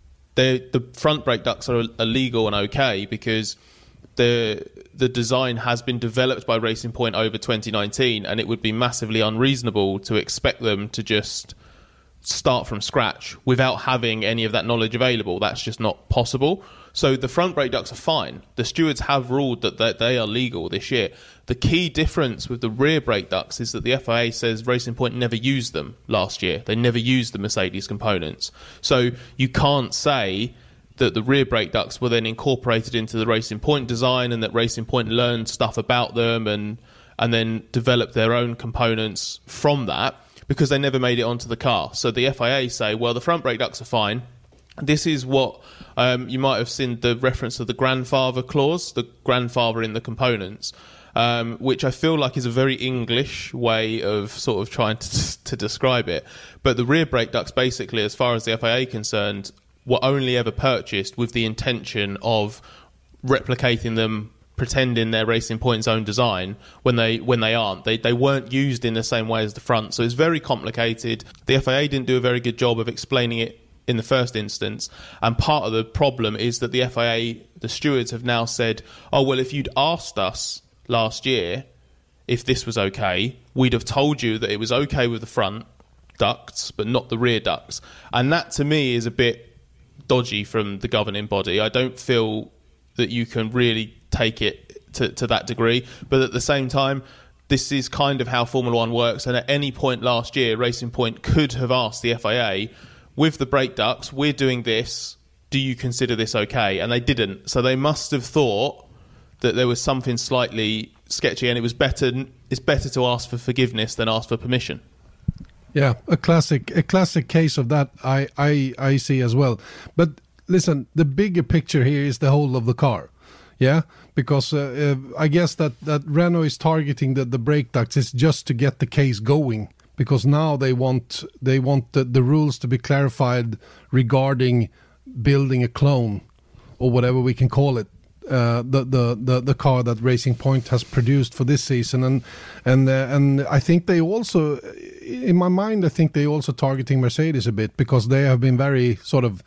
the front brake ducts are illegal and okay because the the design has been developed by Racing Point over twenty nineteen, and it would be massively unreasonable to expect them to just start from scratch without having any of that knowledge available. That's just not possible. So the front brake ducts are fine. The stewards have ruled that they are legal this year. The key difference with the rear brake ducts is that the F I A says Racing Point never used them last year. They never used the Mercedes components. So you can't say that the rear brake ducts were then incorporated into the Racing Point design and that Racing Point learned stuff about them and and then developed their own components from that, because they never made it onto the car. So the F I A say, well, the front brake ducts are fine. This is what um, you might have seen the reference to the grandfather clause, the grandfather in the components, um, which I feel like is a very English way of sort of trying to, to describe it. But the rear brake ducts, basically, as far as the F I A are concerned, were only ever purchased with the intention of replicating them, pretending they're Racing Point's own design when they when they aren't. They they weren't used in the same way as the front, so it's very complicated. The F I A didn't do a very good job of explaining it in the first instance, and part of the problem is that the F I A, the stewards, have now said, oh, well, if you'd asked us last year if this was okay, we'd have told you that it was okay with the front ducts but not the rear ducts. And that to me is a bit dodgy from the governing body. I don't feel that you can really take it to, to that degree, but at the same time, this is kind of how Formula One works, and at any point last year, Racing Point could have asked the F I A, with the brake ducts, we're doing this, do you consider this okay? And they didn't. So they must have thought that there was something slightly sketchy, and it was better it's better to ask for forgiveness than ask for permission. Yeah, a classic a classic case of that I, I, I see as well. But listen, the bigger picture here is the whole of the car. Yeah, because uh, uh, I guess that, that Renault is targeting the, the brake ducts is just to get the case going. Because now they want they want the, the rules to be clarified regarding building a clone or whatever we can call it, uh, the, the the the car that Racing Point has produced for this season, and and uh, and I think they also, in my mind, I think they also targeting Mercedes a bit, because they have been very sort of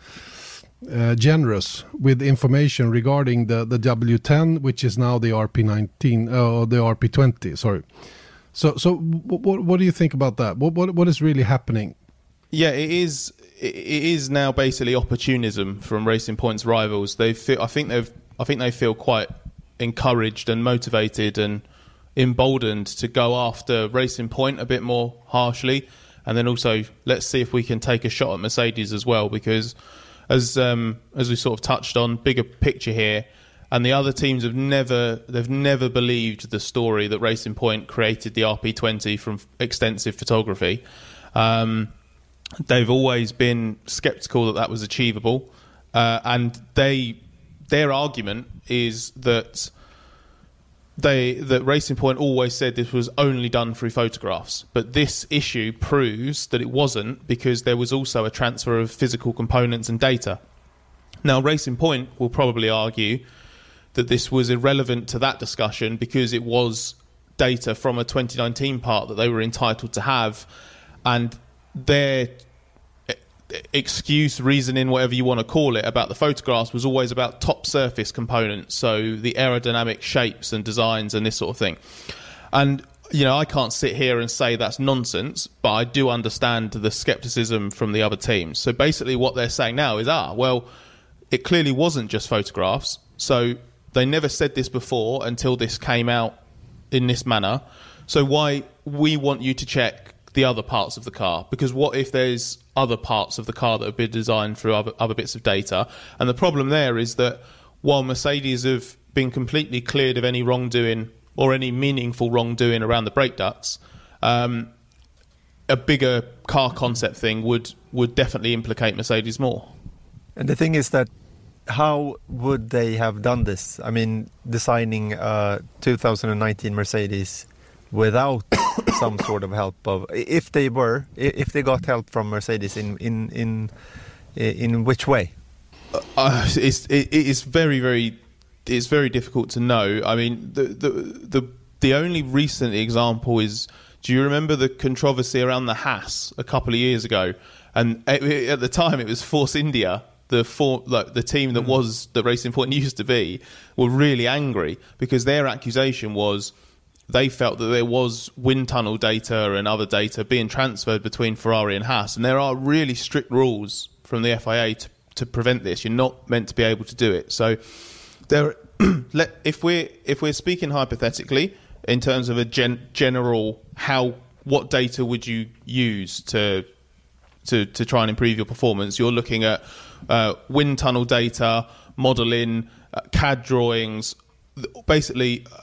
uh, generous with information regarding the the W ten, which is now the R P nineteen or uh, the R P twenty. Sorry. So, so what, what do you think about that? What, what, what is really happening? Yeah, it is. It is now basically opportunism from Racing Point's rivals. They feel. I think they've. I think they feel quite encouraged and motivated and emboldened to go after Racing Point a bit more harshly, and then also let's see if we can take a shot at Mercedes as well. Because, as um, as we sort of touched on, bigger picture here. And the other teams have never, they've never believed the story that Racing Point created the R P twenty from extensive photography. Um, they've always been sceptical that that was achievable. Uh, and they, their argument is that they, that Racing Point always said this was only done through photographs. But this issue proves that it wasn't, because there was also a transfer of physical components and data. Now, Racing Point will probably argue that this was irrelevant to that discussion because it was data from a twenty nineteen part that they were entitled to have, and their excuse, reasoning, whatever you want to call it, about the photographs was always about top surface components, so the aerodynamic shapes and designs and this sort of thing. And, you know, I can't sit here and say that's nonsense, but I do understand the scepticism from the other teams. So basically what they're saying now is, ah, well, it clearly wasn't just photographs, so they never said this before until this came out in this manner. So why we want you to check the other parts of the car? Because what if there's other parts of the car that have been designed through other, other bits of data? And the problem there is that while Mercedes have been completely cleared of any wrongdoing or any meaningful wrongdoing around the brake ducts, um, a bigger car concept thing would, would definitely implicate Mercedes more. And the thing is that how would they have done this? I mean, designing a two thousand nineteen Mercedes without some sort of help of, if they were, if they got help from Mercedes, in in in in which way? Uh, it's it, it's very very it's very difficult to know. I mean, the the the the only recent example is, do you remember the controversy around the Haas a couple of years ago? And at, at the time, it was Force India. The for, like, the team that was the Racing Point used to be were really angry because their accusation was they felt that there was wind tunnel data and other data being transferred between Ferrari and Haas, and there are really strict rules from the F I A to, to prevent this. You're not meant to be able to do it. So, there, let, if we're if we're speaking hypothetically in terms of a gen, general how what data would you use to to to try and improve your performance, you're looking at uh, wind tunnel data, modelling, uh, C A D drawings, basically uh,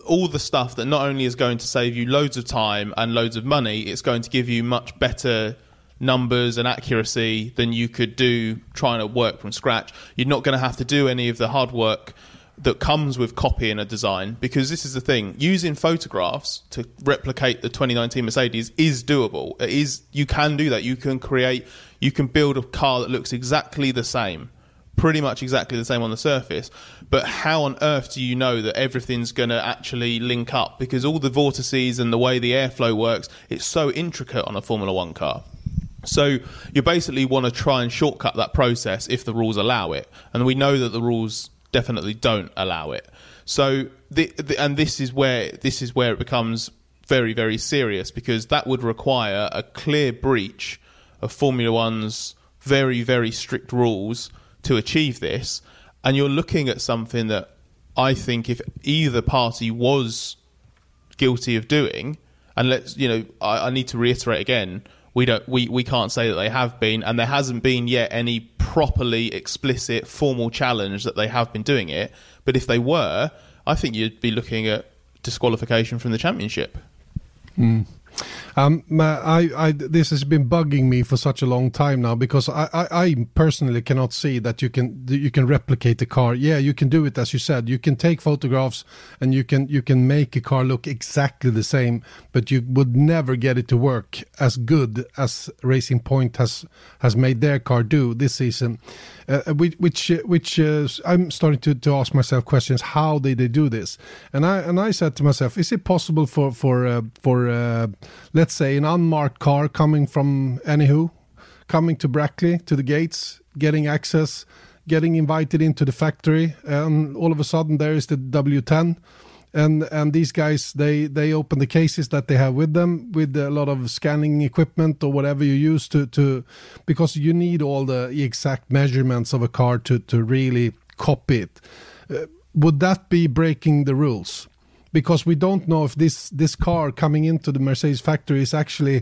all the stuff that not only is going to save you loads of time and loads of money, it's going to give you much better numbers and accuracy than you could do trying to work from scratch. You're not going to have to do any of the hard work that comes with copying a design, because this is the thing, using photographs to replicate the twenty nineteen Mercedes is doable. It is, you can do that. You can create, you can build a car that looks exactly the same, pretty much exactly the same on the surface. But how on earth do you know that everything's going to actually link up? Because all the vortices and the way the airflow works, it's so intricate on a Formula One car. So you basically want to try and shortcut that process if the rules allow it. And we know that the rules definitely don't allow it. So the, the, and this is where this is where it becomes very, very serious, because that would require a clear breach of Formula One's very, very strict rules to achieve this. And you're looking at something that I think if either party was guilty of doing, and let's, you know, I, I need to reiterate again, we don't, we, we can't say that they have been, and there hasn't been yet any properly explicit formal challenge that they have been doing it. But if they were, I think you'd be looking at disqualification from the championship. Mm. Um, I, I, this has been bugging me for such a long time now, because I, I, I personally cannot see that you can you can replicate the car. Yeah, you can do it, as you said. You can take photographs and you can you can make a car look exactly the same, but you would never get it to work as good as Racing Point has has made their car do this season. Uh, which which, which uh, I'm starting to, to ask myself questions. How did they do this? And I and I said to myself, is it possible for for uh, for uh, let's say an unmarked car coming from anywho, coming to Brackley to the gates, getting access, getting invited into the factory, and all of a sudden there is the W ten. And and these guys, they, they open the cases that they have with them, with a lot of scanning equipment or whatever you use to, to because you need all the exact measurements of a car to, to really copy it. Uh, would that be breaking the rules? Because we don't know if this, this car coming into the Mercedes factory is actually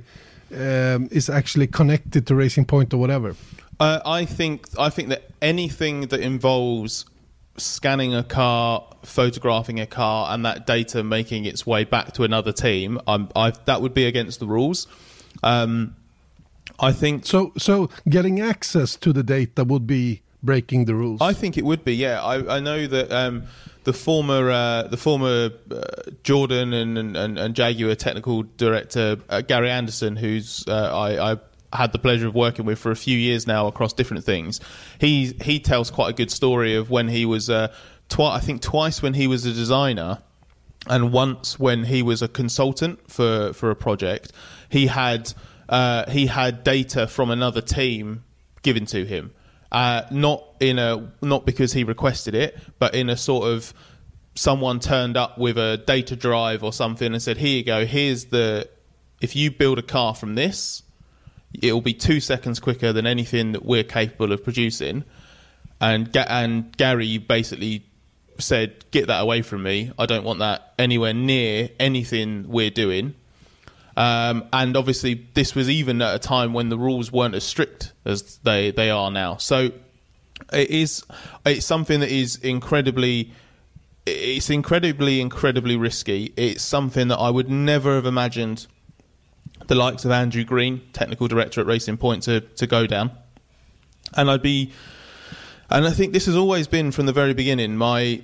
um, is actually connected to Racing Point or whatever. Uh, I think I think that anything that involves scanning a car, photographing a car, and that data making its way back to another team, I'm, I, that would be against the rules. Um, I think so. So getting access to the data would be breaking the rules. I think it would be. Yeah, I, I know that um, the former uh, the former uh, Jordan and, and and Jaguar technical director uh, Gary Anderson, who's uh, I. I had the pleasure of working with for a few years now across different things. He he tells quite a good story of when he was, uh, twi- I think twice when he was a designer, and once when he was a consultant for, for a project. He had uh, he had data from another team given to him, uh, not in a not because he requested it, but in a sort of someone turned up with a data drive or something and said, "Here you go. Here's the if you build a car from this, it'll be two seconds quicker than anything that we're capable of producing." And Ga- and Gary basically said, "Get that away from me. I don't want that anywhere near anything we're doing." Um, and obviously, this was even at a time when the rules weren't as strict as they, they are now. So it is it's something that is incredibly it's incredibly incredibly risky. It's something that I would never have imagined the likes of Andrew Green, technical director at Racing Point, to, to go down. And I'd be, and I think this has always been from the very beginning my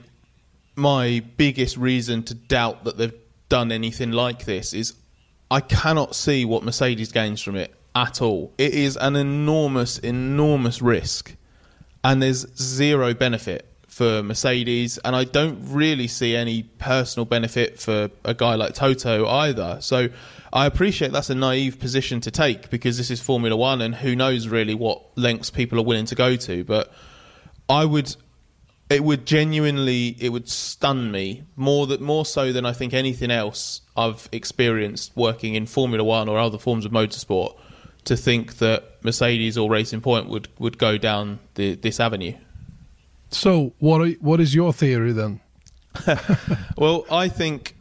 my biggest reason to doubt that they've done anything like this is I cannot see what Mercedes gains from it at all. It is an enormous, enormous risk, and there's zero benefit for Mercedes, and I don't really see any personal benefit for a guy like Toto either. So I appreciate that's a naive position to take, because this is Formula One and who knows really what lengths people are willing to go to. But I would, it would genuinely, it would stun me more that more so than I think anything else I've experienced working in Formula One or other forms of motorsport, to think that Mercedes or Racing Point would, would go down the, this avenue. So what are, what is your theory then? Well, I think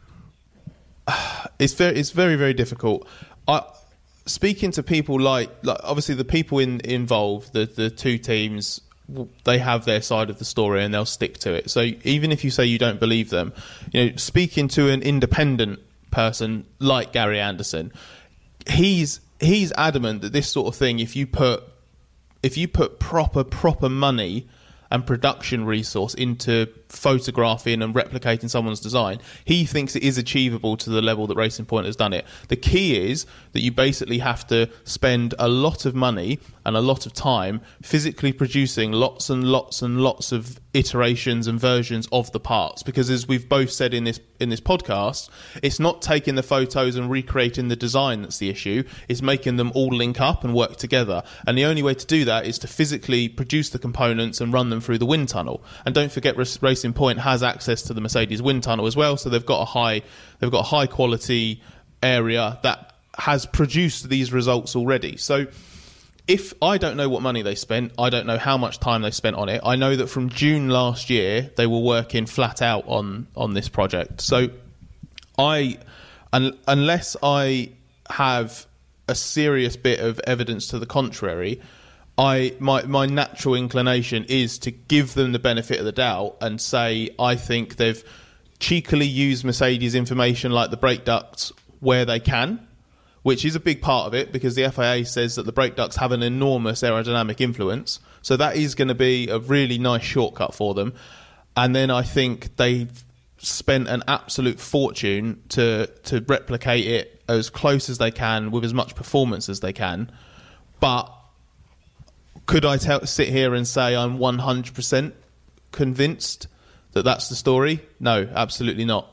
it's very it's very very difficult. I speaking to people like, like obviously the people in involved, the the two teams they have their side of the story and they'll stick to it. So even if you say you don't believe them, you know, speaking to an independent person like Gary Anderson, he's he's adamant that this sort of thing, if you put if you put proper proper money and production resource into photographing and replicating someone's design, he thinks it is achievable to the level that Racing Point has done it. The key is that you basically have to spend a lot of money and a lot of time physically producing lots and lots and lots of iterations and versions of the parts, because as we've both said in this in this podcast, it's not taking the photos and recreating the design that's the issue, it's making them all link up and work together. And the only way to do that is to physically produce the components and run them through the wind tunnel. And don't forget, Racing Point has access to the Mercedes wind tunnel as well, so they've got a high they've got a high quality area that has produced these results already. So if I don't know what money they spent, I don't know how much time they spent on it. I know that from June last year they were working flat out on on this project. So I un, unless I have a serious bit of evidence to the contrary, I my my natural inclination is to give them the benefit of the doubt and say I think they've cheekily used Mercedes information like the brake ducts where they can, which is a big part of it because the F I A says that the brake ducts have an enormous aerodynamic influence. So that is going to be a really nice shortcut for them. And then I think they've spent an absolute fortune to to replicate it as close as they can with as much performance as they can. But could I tell, sit here and say I'm one hundred percent convinced that that's the story? No, absolutely not.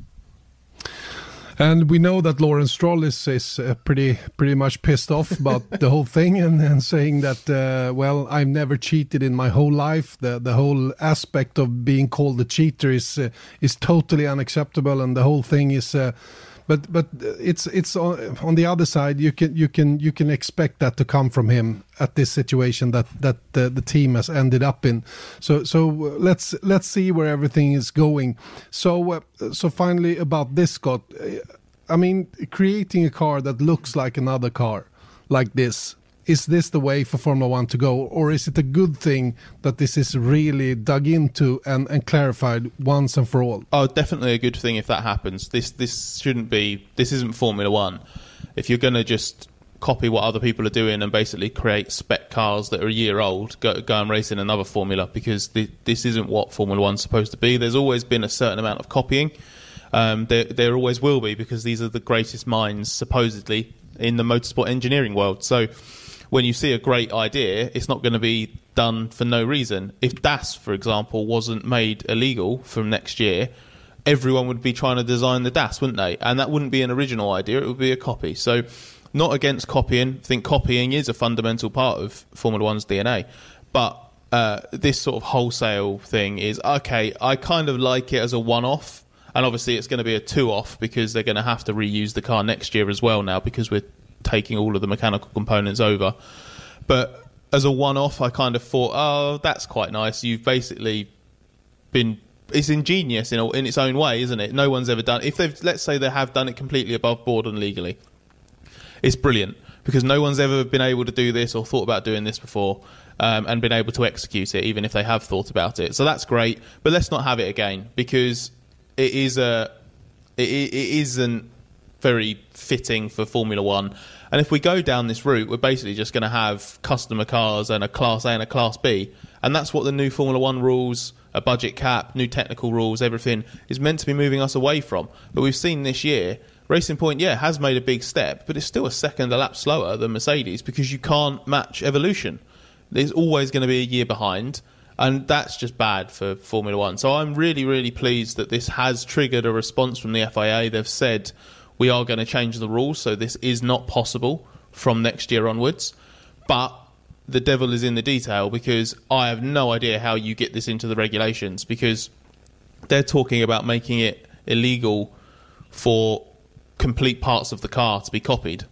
And we know that Lawrence Stroll is, is uh, pretty pretty much pissed off about the whole thing and, and saying that, uh, well, I've never cheated in my whole life. The the whole aspect of being called a cheater is uh, is totally unacceptable, and the whole thing is. Uh, but but it's it's on, on the other side. You can you can you can expect that to come from him at this situation that that uh, the team has ended up in. So so uh, let's let's see where everything is going. So uh, so finally about this, Scott. I mean, creating a car that looks like another car like this, is this the way for Formula One to go, or is it a good thing that this is really dug into and, and clarified once and for all? Oh, definitely a good thing if that happens. This this shouldn't be. This isn't Formula One. If you're going to just copy what other people are doing and basically create spec cars that are a year old, go, go and race in another formula, because the, this isn't what Formula One's supposed to be. There's always been a certain amount of copying. Um, there, there always will be, because these are the greatest minds, supposedly, in the motorsport engineering world. So when you see a great idea, it's not going to be done for no reason. If D A S, for example, wasn't made illegal from next year, everyone would be trying to design the D A S, wouldn't they? And that wouldn't be an original idea, it would be a copy. So not against copying. I think copying is a fundamental part of Formula One's D N A. But uh, this sort of wholesale thing is, okay, I kind of like it as a one-off. And obviously it's going to be a two-off because they're going to have to reuse the car next year as well now, because we're taking all of the mechanical components over. But as a one-off, I kind of thought, oh, that's quite nice. You've basically been... It's ingenious in, a, in its own way, isn't it? No one's ever done... If they've, let's say they have done it completely above board and legally, it's brilliant, because no one's ever been able to do this or thought about doing this before, um, and been able to execute it, even if they have thought about it. So that's great. But let's not have it again, because... It is a, it, it isn't very fitting for Formula One, and if we go down this route, we're basically just going to have customer cars and a Class A and a Class B, and that's what the new Formula One rules, a budget cap, new technical rules, everything is meant to be moving us away from. But we've seen this year, Racing Point, yeah, has made a big step, but it's still a second a lap slower than Mercedes, because you can't match evolution. There's always going to be a year behind. And that's just bad for Formula One. So I'm really, really pleased that this has triggered a response from the F I A. They've said we are going to change the rules, so this is not possible from next year onwards. But the devil is in the detail, because I have no idea how you get this into the regulations, because they're talking about making it illegal for complete parts of the car to be copied.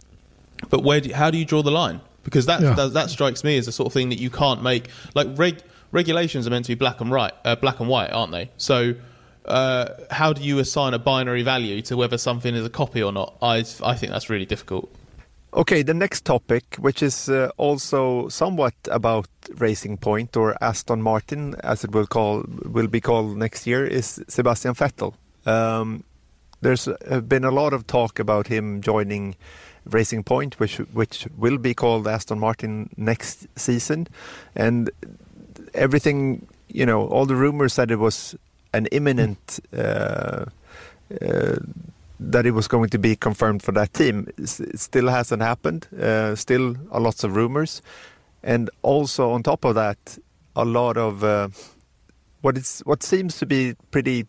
But where? Do, how do you draw the line? Because that, yeah. that that strikes me as the sort of thing that you can't make. Like reg, regulations are meant to be black and right, uh, black and white, aren't they? So uh, how do you assign a binary value to whether something is a copy or not? I I think that's really difficult. Okay, the next topic, which is uh, also somewhat about Racing Point, or Aston Martin, as it will call will be called next year, is Sebastian Vettel. Um, there's uh, been a lot of talk about him joining Racing Point, which which will be called Aston Martin next season, and everything, you know, all the rumors said it was an imminent. Uh, uh, that it was going to be confirmed for that team. It still hasn't happened. Uh, still a lots of rumors. And also on top of that, a lot of uh, what is what seems to be pretty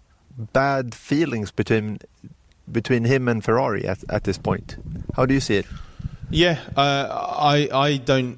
bad feelings between between him and Ferrari at, at this point. How do you see it? Yeah, uh, I I don't...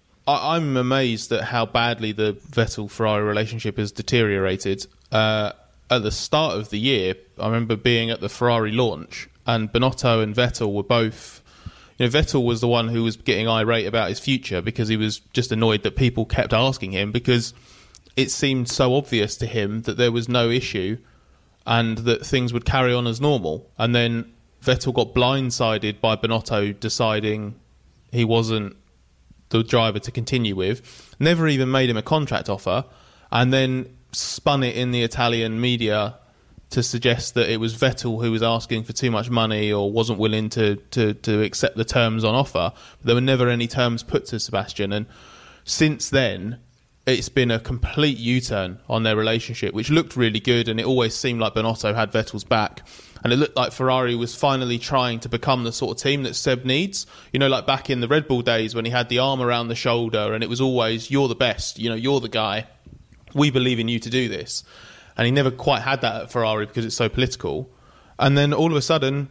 I, I'm amazed at how badly the Vettel-Ferrari relationship has deteriorated. Uh At the start of the year, I remember being at the Ferrari launch, and Binotto and Vettel were both... You know, Vettel was the one who was getting irate about his future because he was just annoyed that people kept asking him, because it seemed so obvious to him that there was no issue and that things would carry on as normal. And then Vettel got blindsided by Binotto deciding he wasn't the driver to continue with, never even made him a contract offer, and then spun it in the Italian media to suggest that it was Vettel who was asking for too much money or wasn't willing to, to, to accept the terms on offer. But there were never any terms put to Sebastian. And since then, it's been a complete U-turn on their relationship, which looked really good, and it always seemed like Binotto had Vettel's back. And it looked like Ferrari was finally trying to become the sort of team that Seb needs. You know, like back in the Red Bull days when he had the arm around the shoulder and it was always, you're the best, you know, you're the guy. We believe in you to do this. And he never quite had that at Ferrari because it's so political. And then all of a sudden,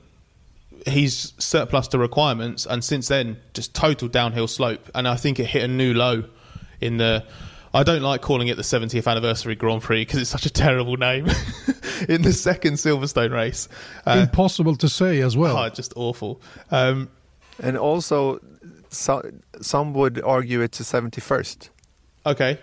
he's surplus to requirements. And since then, just total downhill slope. And I think it hit a new low in the... I don't like calling it the seventieth anniversary Grand Prix because it's such a terrible name. In the second Silverstone race. Uh, Impossible to say as well. Oh, just awful. Um, and also, so, some would argue it's the seventy-first. Okay.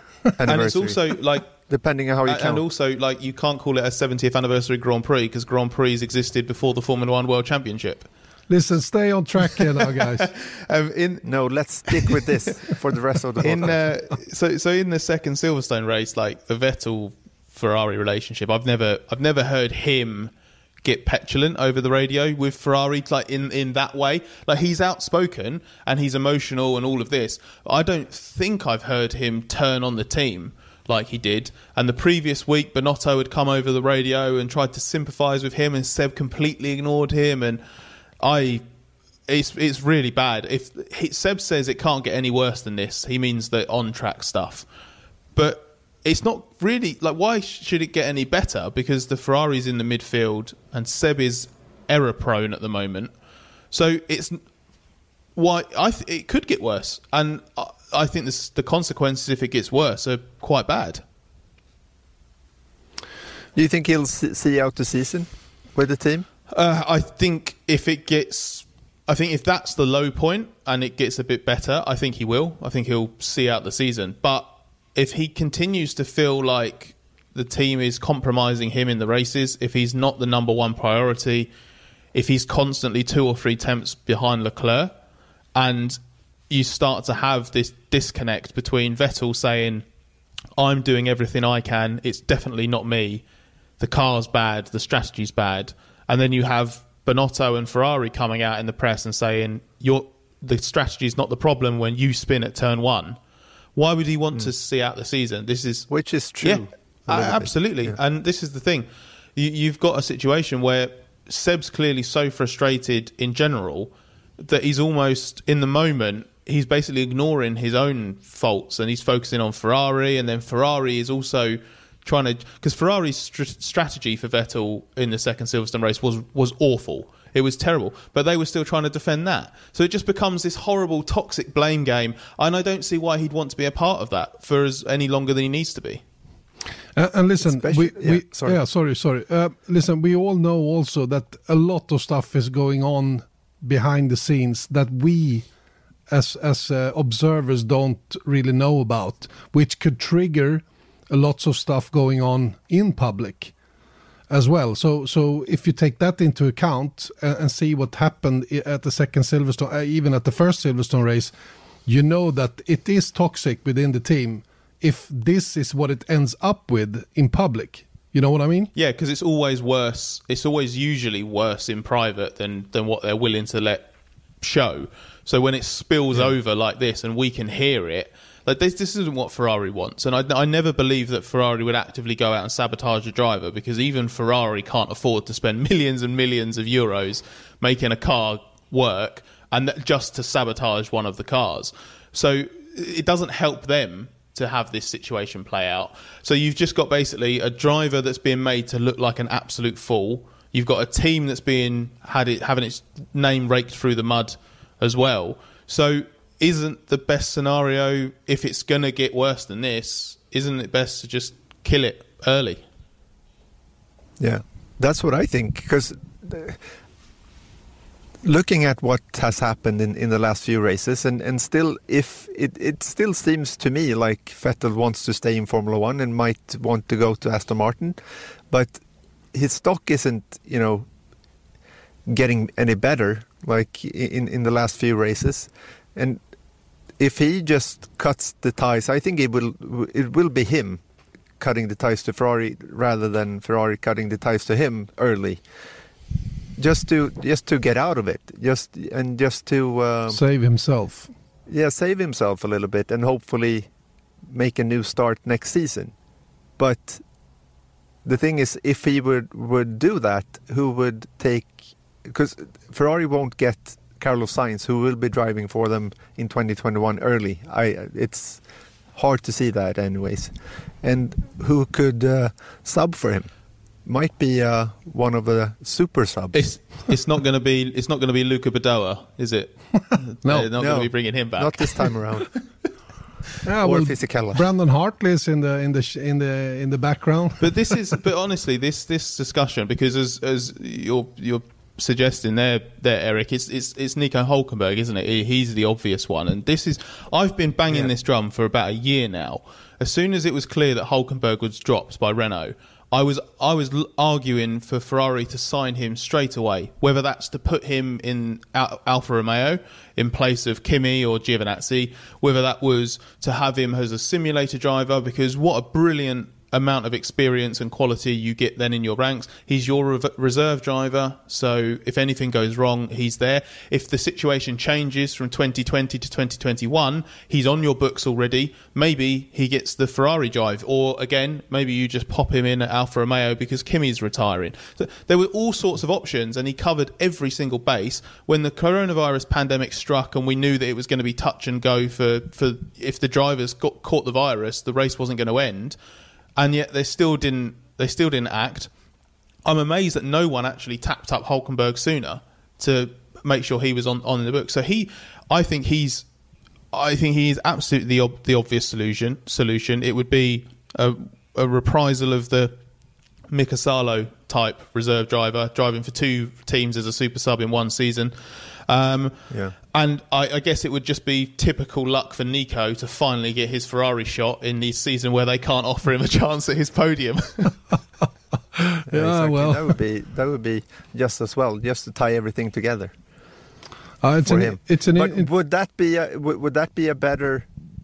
And it's also like... Depending on how you and count. And also, like, you can't call it a seventieth anniversary Grand Prix because Grand Prix existed before the Formula One World Championship. Listen, stay on track here now, guys. um, in no, let's stick with this for the rest of the in uh, so so in the second Silverstone race, like the Vettel Ferrari relationship, I've never I've never heard him get petulant over the radio with Ferrari, like in in that way. Like, he's outspoken and he's emotional and all of this. I don't think I've heard him turn on the team like he did. And the previous week, Binotto had come over the radio and tried to sympathise with him, and Seb completely ignored him. And I, it's it's really bad. If he, Seb says it can't get any worse than this, he means the on-track stuff. But it's not really, like, why should it get any better? Because the Ferrari's in the midfield and Seb is error-prone at the moment. So it's why I th- it could get worse. And I, I think this, the consequences, if it gets worse, are quite bad. Do you think he'll see out the season with the team? Uh, I think if it gets, I think if that's the low point and it gets a bit better, I think he will. I think he'll see out the season. But if he continues to feel like the team is compromising him in the races, if he's not the number one priority, if he's constantly two or three tenths behind Leclerc, and you start to have this disconnect between Vettel saying, I'm doing everything I can, it's definitely not me, the car's bad, the strategy's bad, and then you have Binotto and Ferrari coming out in the press and saying, You're, the strategy's not the problem when you spin at turn one. Why would he want mm. to see out the season? This is Which is true. Yeah, absolutely. Yeah. And this is the thing. You, you've got a situation where Seb's clearly so frustrated in general that he's almost, in the moment, he's basically ignoring his own faults and he's focusing on Ferrari, and then Ferrari is also trying to... Because Ferrari's st- strategy for Vettel in the second Silverstone race was, was awful. It was terrible. But they were still trying to defend that. So it just becomes this horrible, toxic blame game, and I don't see why he'd want to be a part of that for as any longer than he needs to be. Uh, and listen, Especially, we, yeah, we sorry. yeah, sorry, sorry. Uh, listen, we all know also that a lot of stuff is going on behind the scenes that we, as as uh, observers, don't really know about, which could trigger lots of stuff going on in public. as well. So so if you take that into account and, and see what happened at the second Silverstone, uh, even at the first Silverstone race, you know that it is toxic within the team if this is what it ends up with in public. You know what I mean? Yeah, because it's always worse. It's always usually worse in private than, than what they're willing to let show. So when it spills yeah. over like this and we can hear it, like this, this isn't what Ferrari wants. And I, I never believe that Ferrari would actively go out and sabotage a driver, because even Ferrari can't afford to spend millions and millions of euros making a car work and that, just to sabotage one of the cars. So it doesn't help them to have this situation play out. So you've just got basically a driver that's being made to look like an absolute fool. You've got a team that's being had it having its name raked through the mud as well. So isn't the best scenario, if it's going to get worse than this, isn't it best to just kill it early? Yeah, that's what I think. Because looking at what has happened in, in the last few races, and, and still, if it, it still seems to me like Vettel wants to stay in Formula One and might want to go to Aston Martin, but his stock isn't, you know, getting any better like in, in the last few races. And if he just cuts the ties, I think it will it will be him cutting the ties to Ferrari rather than Ferrari cutting the ties to him early. Just to just to get out of it, just and just to uh, save himself. Yeah, save himself a little bit, and hopefully make a new start next season. But the thing is, if he would would do that, who would take? Because Ferrari won't get Carlos Sainz, who will be driving for them in twenty twenty-one early. I it's hard to see that, anyways. And who could uh, sub for him? Might be uh, one of the super subs. It's it's not going to be it's not going to be Luca Badoa, is it? No, they're not no, going to be bringing him back. Not this time around. Yeah, or well, Fisichella. Brandon Hartley's in the in the in the in the background. But this is but honestly, this this discussion, because as as you're you're suggesting there there Eric, it's it's it's Nico Hülkenberg, isn't it? He's the obvious one, and this is I've been banging yeah. this drum for about a year now. As soon as it was clear that Hülkenberg was dropped by Renault, I was I was arguing for Ferrari to sign him straight away, whether that's to put him in Al- Alfa Romeo in place of Kimi or Giovinazzi, whether that was to have him as a simulator driver, because what a brilliant amount of experience and quality you get then in your ranks. He's your re- reserve driver, so if anything goes wrong, he's there. If the situation changes from twenty twenty to twenty twenty-one, he's on your books already. Maybe he gets the Ferrari drive, or again, maybe you just pop him in at Alfa Romeo because Kimi's retiring. So there were all sorts of options, and he covered every single base. When the coronavirus pandemic struck and we knew that it was going to be touch and go for, for if the drivers got caught the virus, the race wasn't going to end. And yet they still didn't. They still didn't act. I'm amazed that no one actually tapped up Hülkenberg sooner to make sure he was on, on the book. So he, I think he's, I think he is absolutely the, ob, the obvious solution. Solution. It would be a, a reprisal of the Mika Salo type reserve driver driving for two teams as a super sub in one season. Um, yeah. And I, I guess it would just be typical luck for Nico to finally get his Ferrari shot in the season where they can't offer him a chance at his podium. yeah, yeah exactly. well, that would be that would be just as well, just to tie everything together. Uh, it's, for an, him. it's an. But it, would that be a, would, would that be a better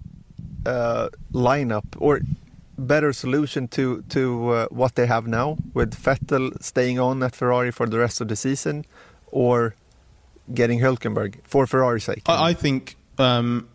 uh, lineup or better solution to to uh, what they have now, with Vettel staying on at Ferrari for the rest of the season, or getting Hülkenberg for Ferrari's sake? I, I think um,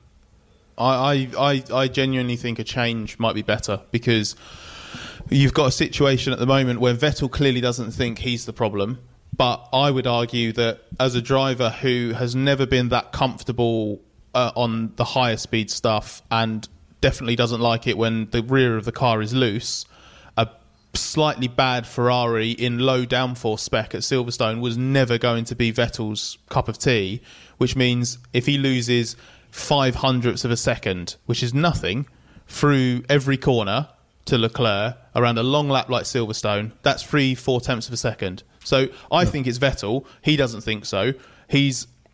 I, I I genuinely think a change might be better, because you've got a situation at the moment where Vettel clearly doesn't think he's the problem, but I would argue that as a driver who has never been that comfortable uh, on the higher speed stuff, and definitely doesn't like it when the rear of the car is loose, a slightly bad Ferrari in low downforce spec at Silverstone was never going to be Vettel's cup of tea, which means if he loses five hundredths of a second, which is nothing, through every corner to Leclerc around a long lap like Silverstone, that's three, four tenths of a second. So I yeah. think it's Vettel. He doesn't think so. He's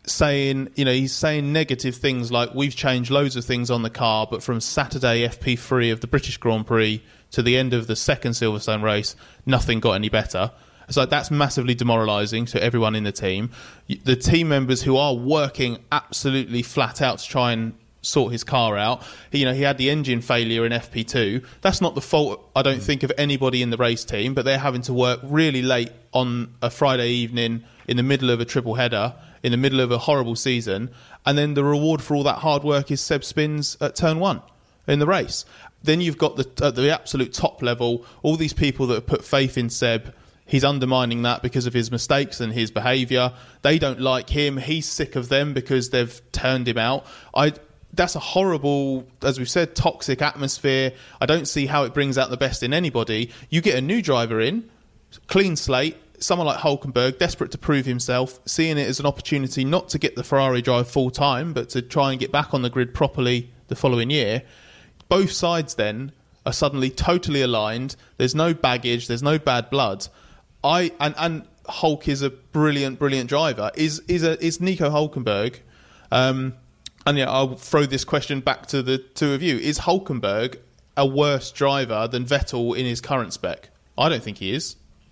saying, you know, he's saying negative things like we've changed loads of things on the car, but from Saturday F P three of the British Grand Prix to the end of the second Silverstone race, nothing got any better. So that's massively demoralising to everyone in the team. The team members who are working absolutely flat out to try and sort his car out. You know, he had the engine failure in F P two. That's not the fault, I don't think, of anybody in the race team, but they're having to work really late on a Friday evening in the middle of a triple header, in the middle of a horrible season, and then the reward for all that hard work is Seb spins at turn one in the race. Then you've got the at the absolute top level, all these people that have put faith in Seb. He's undermining that because of his mistakes and his behaviour. They don't like him. He's sick of them because they've turned him out. I That's a horrible, as we've said, toxic atmosphere. I don't see how it brings out the best in anybody. You get a new driver in, clean slate, someone like Hulkenberg, desperate to prove himself, seeing it as an opportunity not to get the Ferrari drive full time, but to try and get back on the grid properly the following year. Both sides then are suddenly totally aligned. There's no baggage. There's no bad blood. I and, and Hulk is a brilliant, brilliant driver. Is is a is Nico Hulkenberg? Um, and yeah, I'll throw this question back to the two of you. Is Hulkenberg a worse driver than Vettel in his current spec? I don't think he is.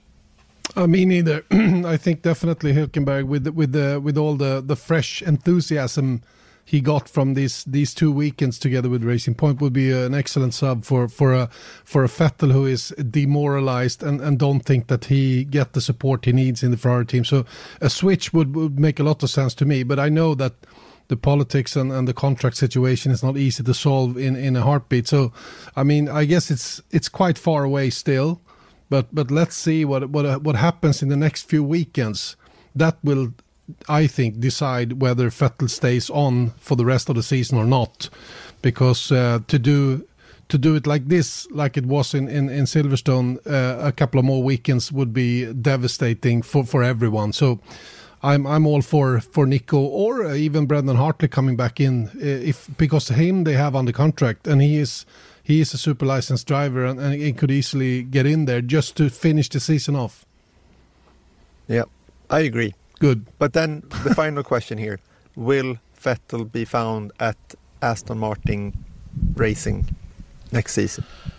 Uh, me neither. I think definitely Hülkenberg with the, with the with all the, the fresh enthusiasm he got from these these two weekends together with Racing Point would be an excellent sub for for a for a Vettel who is demoralized and, and don't think that he get the support he needs in the Ferrari team. So a switch would, would make a lot of sense to me. But I know that the politics and, and the contract situation is not easy to solve in, in a heartbeat. So I mean, I guess it's it's quite far away still. But but let's see what what what happens in the next few weekends. That will, I think, decide whether Vettel stays on for the rest of the season or not. Because uh, to do to do it like this, like it was in in, in Silverstone, uh, a couple of more weekends would be devastating for, for everyone. So I'm I'm all for for Nico or even Brendan Hartley coming back in, if because him they have under contract and he is. He is a super licensed driver and, and he could easily get in there just to finish the season off. Yeah, I agree. Good. But then the final question here. Will Vettel be found at Aston Martin Racing next season?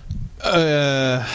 Uh,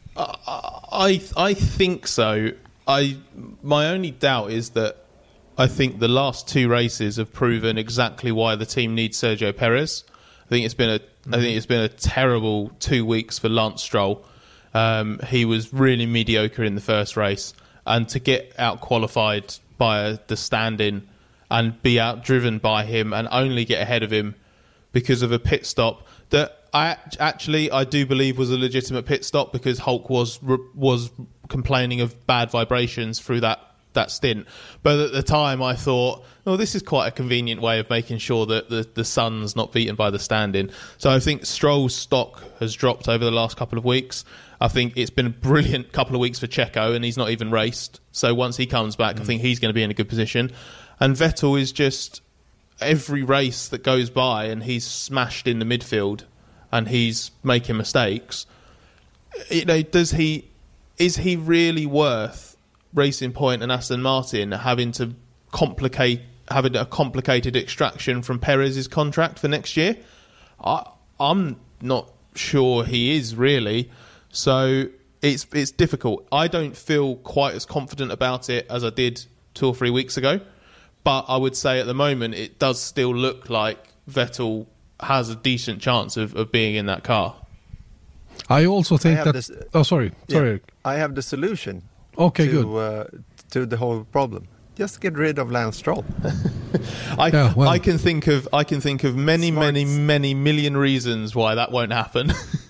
I I think so. I my only doubt is that I think the last two races have proven exactly why the team needs Sergio Perez. I think it's been a I think it's been a terrible two weeks for Lance Stroll. Um, he was really mediocre in the first race, and to get out qualified by the stand-in and be outdriven by him and only get ahead of him because of a pit stop that I actually I do believe was a legitimate pit stop because Hulk was was complaining of bad vibrations through that. that stint. But at the time I thought, oh, this is quite a convenient way of making sure that the, the sun's not beaten by the stand-in. So I think Stroll's stock has dropped over the last couple of weeks. I think it's been a brilliant couple of weeks for Checo and he's not even raced. So once he comes back, mm. I think he's going to be in a good position. And Vettel is just every race that goes by and he's smashed in the midfield and he's making mistakes. You know, does he, is he really worth Racing Point and Aston Martin having to complicate having a complicated extraction from Perez's contract for next year? I, I'm not sure he is really. So it's it's difficult. I don't feel quite as confident about it as I did two or three weeks ago. But I would say at the moment it does still look like Vettel has a decent chance of, of being in that car. I also think I that... This, oh, sorry. Sorry. Yeah, I have the solution. Okay, to, good. Uh, to the whole problem. Just get rid of Lance Stroll. I, yeah, well, I can think of I can think of many, Smart. many, many million reasons why that won't happen.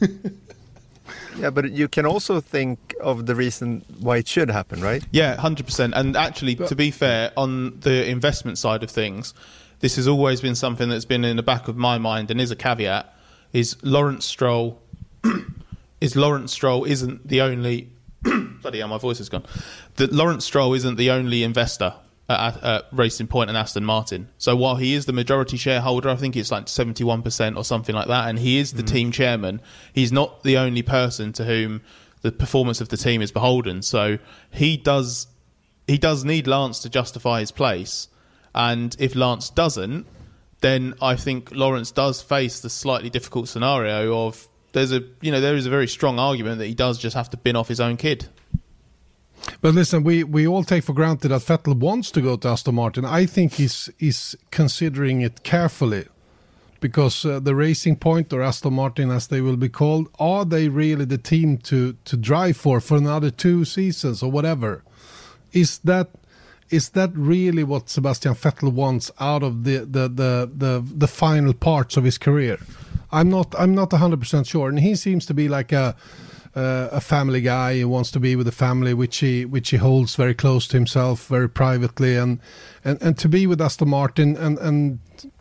Yeah, but you can also think of the reason why it should happen, right? Yeah, one hundred percent. And actually, but, to be fair, on the investment side of things, this has always been something that's been in the back of my mind and is a caveat, is Lawrence Stroll, is Lawrence Stroll isn't the only... Bloody hell, my voice has gone. That Lawrence Stroll isn't the only investor at, at Racing Point and Aston Martin. So while he is the majority shareholder, I think it's like seventy-one percent or something like that, and he is the mm. team chairman, he's not the only person to whom the performance of the team is beholden. So he does he does need Lance to justify his place. And if Lance doesn't, then I think Lawrence does face the slightly difficult scenario of there's a you know there is a very strong argument that he does just have to bin off his own kid. But listen, we, we all take for granted that Vettel wants to go to Aston Martin. I think he's he's considering it carefully, because uh, the Racing Point, or Aston Martin as they will be called, are they really the team to, to drive for for another two seasons or whatever? Is that is that really what Sebastian Vettel wants out of the the, the, the, the final parts of his career? I'm not I'm not one hundred percent sure, and he seems to be like a Uh, a family guy who wants to be with the family, which he which he holds very close to himself, very privately, and and, and to be with Aston Martin and and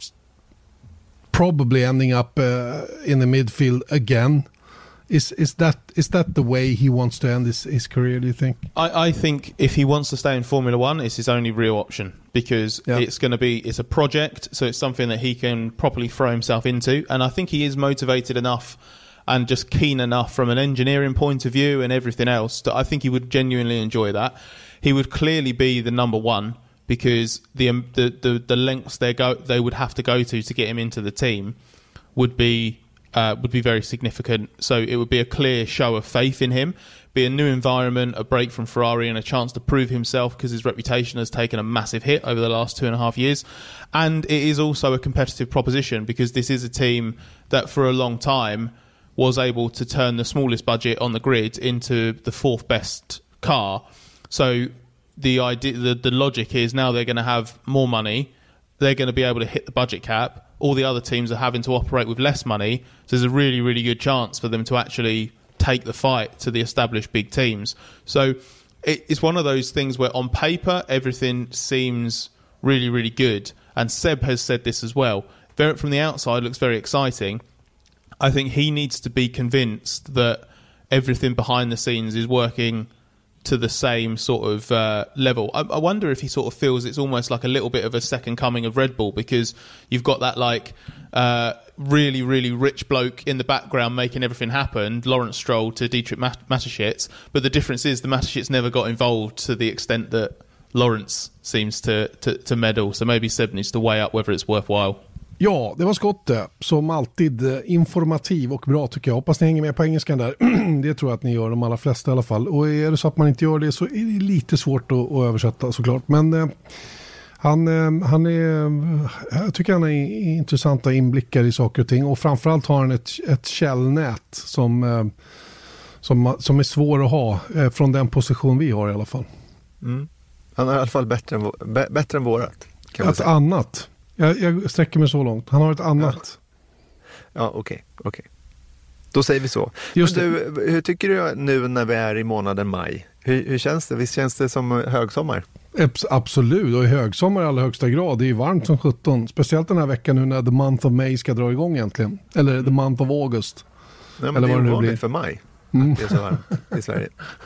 probably ending up uh, in the midfield again. Is is that is that the way he wants to end his, his career, do you think? I, I think if he wants to stay in Formula One, it's his only real option, because yeah. it's going to be it's a project, so it's something that he can properly throw himself into, and I think he is motivated enough and just keen enough from an engineering point of view and everything else that I think he would genuinely enjoy that. He would clearly be the number one, because the um, the, the the lengths they go they would have to go to to get him into the team would be uh, would be very significant. So it would be a clear show of faith in him, be a new environment, a break from Ferrari, and a chance to prove himself, because his reputation has taken a massive hit over the last two and a half years. And it is also a competitive proposition, because this is a team that for a long time was able to turn the smallest budget on the grid into the fourth best car. So the idea, the, the logic is now they're going to have more money, they're going to be able to hit the budget cap. All the other teams are having to operate with less money, so there's a really, really good chance for them to actually take the fight to the established big teams. So it, it's one of those things where on paper everything seems really, really good, and Seb has said this as well. Very, from the outside, it looks very exciting. I think he needs to be convinced that everything behind the scenes is working to the same sort of uh, level. I, I wonder if he sort of feels it's almost like a little bit of a second coming of Red Bull, because you've got that like uh, really, really rich bloke in the background making everything happen, Lawrence Stroll to Dietrich Mateschitz, but the difference is the Mateschitz never got involved to the extent that Lawrence seems to, to, to meddle. So maybe Seb needs to weigh up whether it's worthwhile. Ja, det var Scott det. Som alltid informativ och bra tycker jag. Hoppas ni hänger med på engelskan där. Det tror jag att ni gör, de allra flesta i alla fall. Och är det så att man inte gör det så är det lite svårt att, att översätta såklart. Men eh, han, eh, han är, jag tycker han har intressanta inblickar i saker och ting. Och framförallt har han ett, ett källnät som, eh, som, som är svår att ha eh, från den position vi har i alla fall. Mm. Han är i alla fall bättre än, b- bättre än vårat. Kan man ett säga. annat. Jag, jag sträcker mig så långt. Han har ett annat. Ja, okej. Okay, okay. Då säger vi så. Just Men du, hur tycker du nu när vi är i månaden maj? Hur, hur känns det? Visst känns det som högsommar? Absolut, och i högsommar i allra högsta grad. Det är varmt som sjutton. Speciellt den här veckan nu när the month of May ska dra igång egentligen. Eller mm. the month of August. Nej, men Eller det är vad det nu ovanligt blir. för maj. Mm. Det är så varmt i Sverige.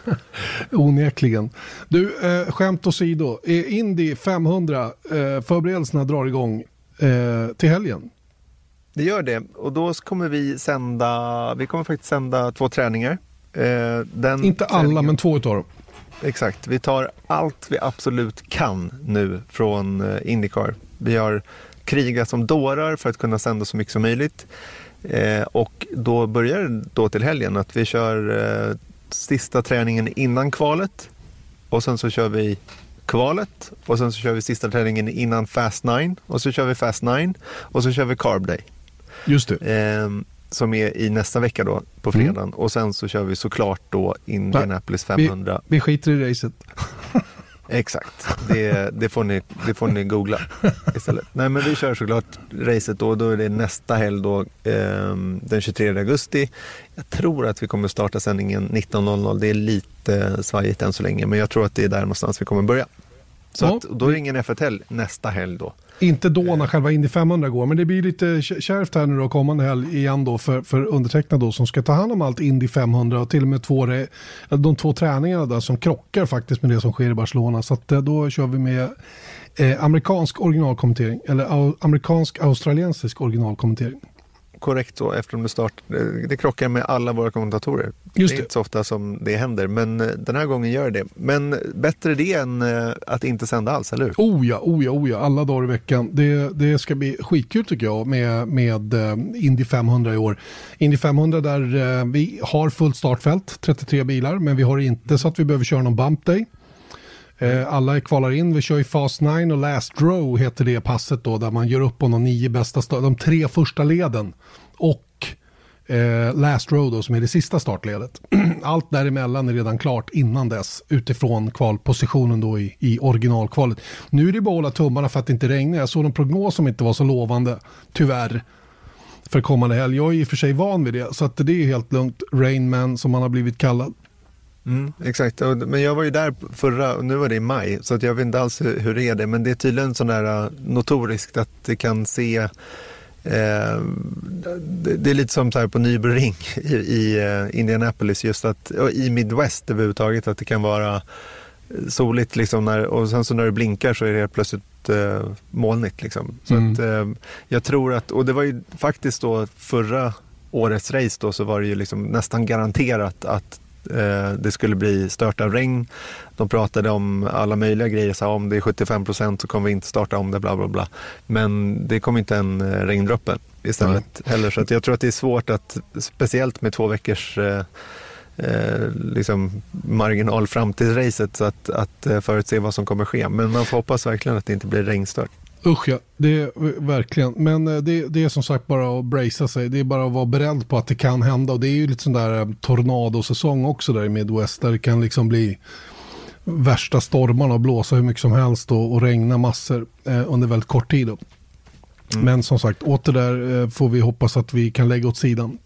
Onekligen. Du, eh, skämt åsido. Indy femhundra, eh, förberedelserna drar igång eh, till helgen. Det gör det. Och då kommer vi sända, vi kommer faktiskt sända två träningar. Eh, den Inte alla, träningen, men två utav dem. Exakt. Vi tar allt vi absolut kan nu från eh, IndyCar. Vi har krigat som dårar för att kunna sända så mycket som möjligt. Eh, och då börjar det då till helgen att vi kör eh, sista träningen innan kvalet. Och sen så kör vi kvalet. Och sen så kör vi sista träningen innan Fast nine. Och så kör vi Fast nine. Och så kör vi Carb Day. Just det. Eh, som är i nästa vecka då, på fredagen. Mm. Och sen så kör vi såklart då Indianapolis femhundra. Vi, vi skiter i racet. Exakt, det, det, får ni, det får ni googla istället. Nej, men vi kör såklart racet då, då är det nästa helg då, eh, den tjugotredje augusti. Jag tror att vi kommer starta sändningen nitton noll noll, det är lite svajigt än så länge, men jag tror att det är där någonstans vi kommer börja. Så ja. att, då är det ingen F ett helg nästa helg då. Inte då när själva Indy femhundra går, men det blir lite kärvt här nu då kommande helg igen då för, för undertecknad då som ska ta hand om allt Indy femhundra och till och med två, de två träningarna där som krockar faktiskt med det som sker i Barcelona. Så att då kör vi med eh, amerikansk originalkommentering eller au, amerikansk australiensisk originalkommentering. korrekt så, eftersom det, start, det krockar med alla våra kommentatorer. Just det är det. inte så ofta som det händer, men den här gången gör det. Men bättre det än att inte sända alls, eller hur? Oh ja, oh ja, oh ja, alla dagar i veckan. Det, det ska bli skitkul tycker jag med, med Indy femhundra i år. Indy femhundra där vi har fullt startfält, trettiotre bilar, men vi har inte så att vi behöver köra någon bump day. Alla kvalar in, vi kör i Fast nine och Last Row heter det passet då, där man gör upp om de nio bästa, st- de tre första leden och eh, Last Row då som är det sista startledet. Allt däremellan är redan klart innan dess utifrån kvalpositionen då i, i originalkvalet. Nu är det bara att hålla tummarna för att det inte regnar. Jag såg en prognos som inte var så lovande, tyvärr, för kommande helg. Jag är i och för sig van vid det, så att det är helt lugnt. Rainman som man har blivit kallad. Mm, exakt, men jag var ju där förra, och nu var det i maj, så att jag vet inte alls hur, hur det är det, men det är tydligen sån där notoriskt att det kan se eh, det, det är lite som så här på Nürburgring i, i uh, Indianapolis, just att i Midwest överhuvudtaget, att det kan vara soligt liksom när, och sen så när det blinkar så är det plötsligt uh, molnigt liksom. Så mm. att uh, jag tror att, och det var ju faktiskt då förra årets race då, så var det ju liksom nästan garanterat att det skulle bli stört av regn. De pratade om alla möjliga grejer, så om det är sjuttiofem procent så kommer vi inte starta om det, bla bla bla. Men det kom inte en regndroppe istället mm. heller, så att jag tror att det är svårt att, speciellt med två veckors eh, eh, liksom marginal fram till racet, så att, att förutse vad som kommer ske. Men man får hoppas verkligen att det inte blir regnstört. Usch ja, det är verkligen. Men det, det är som sagt bara att bracea sig. Det är bara att vara beredd på att det kan hända. Och det är ju lite sån där tornadosäsong också där i Midwest, där det kan liksom bli värsta stormarna och blåsa hur mycket som helst och, och regna massor eh, under väldigt kort tid. Då. Mm. Men som sagt, åter där eh, får vi hoppas att vi kan lägga åt sidan.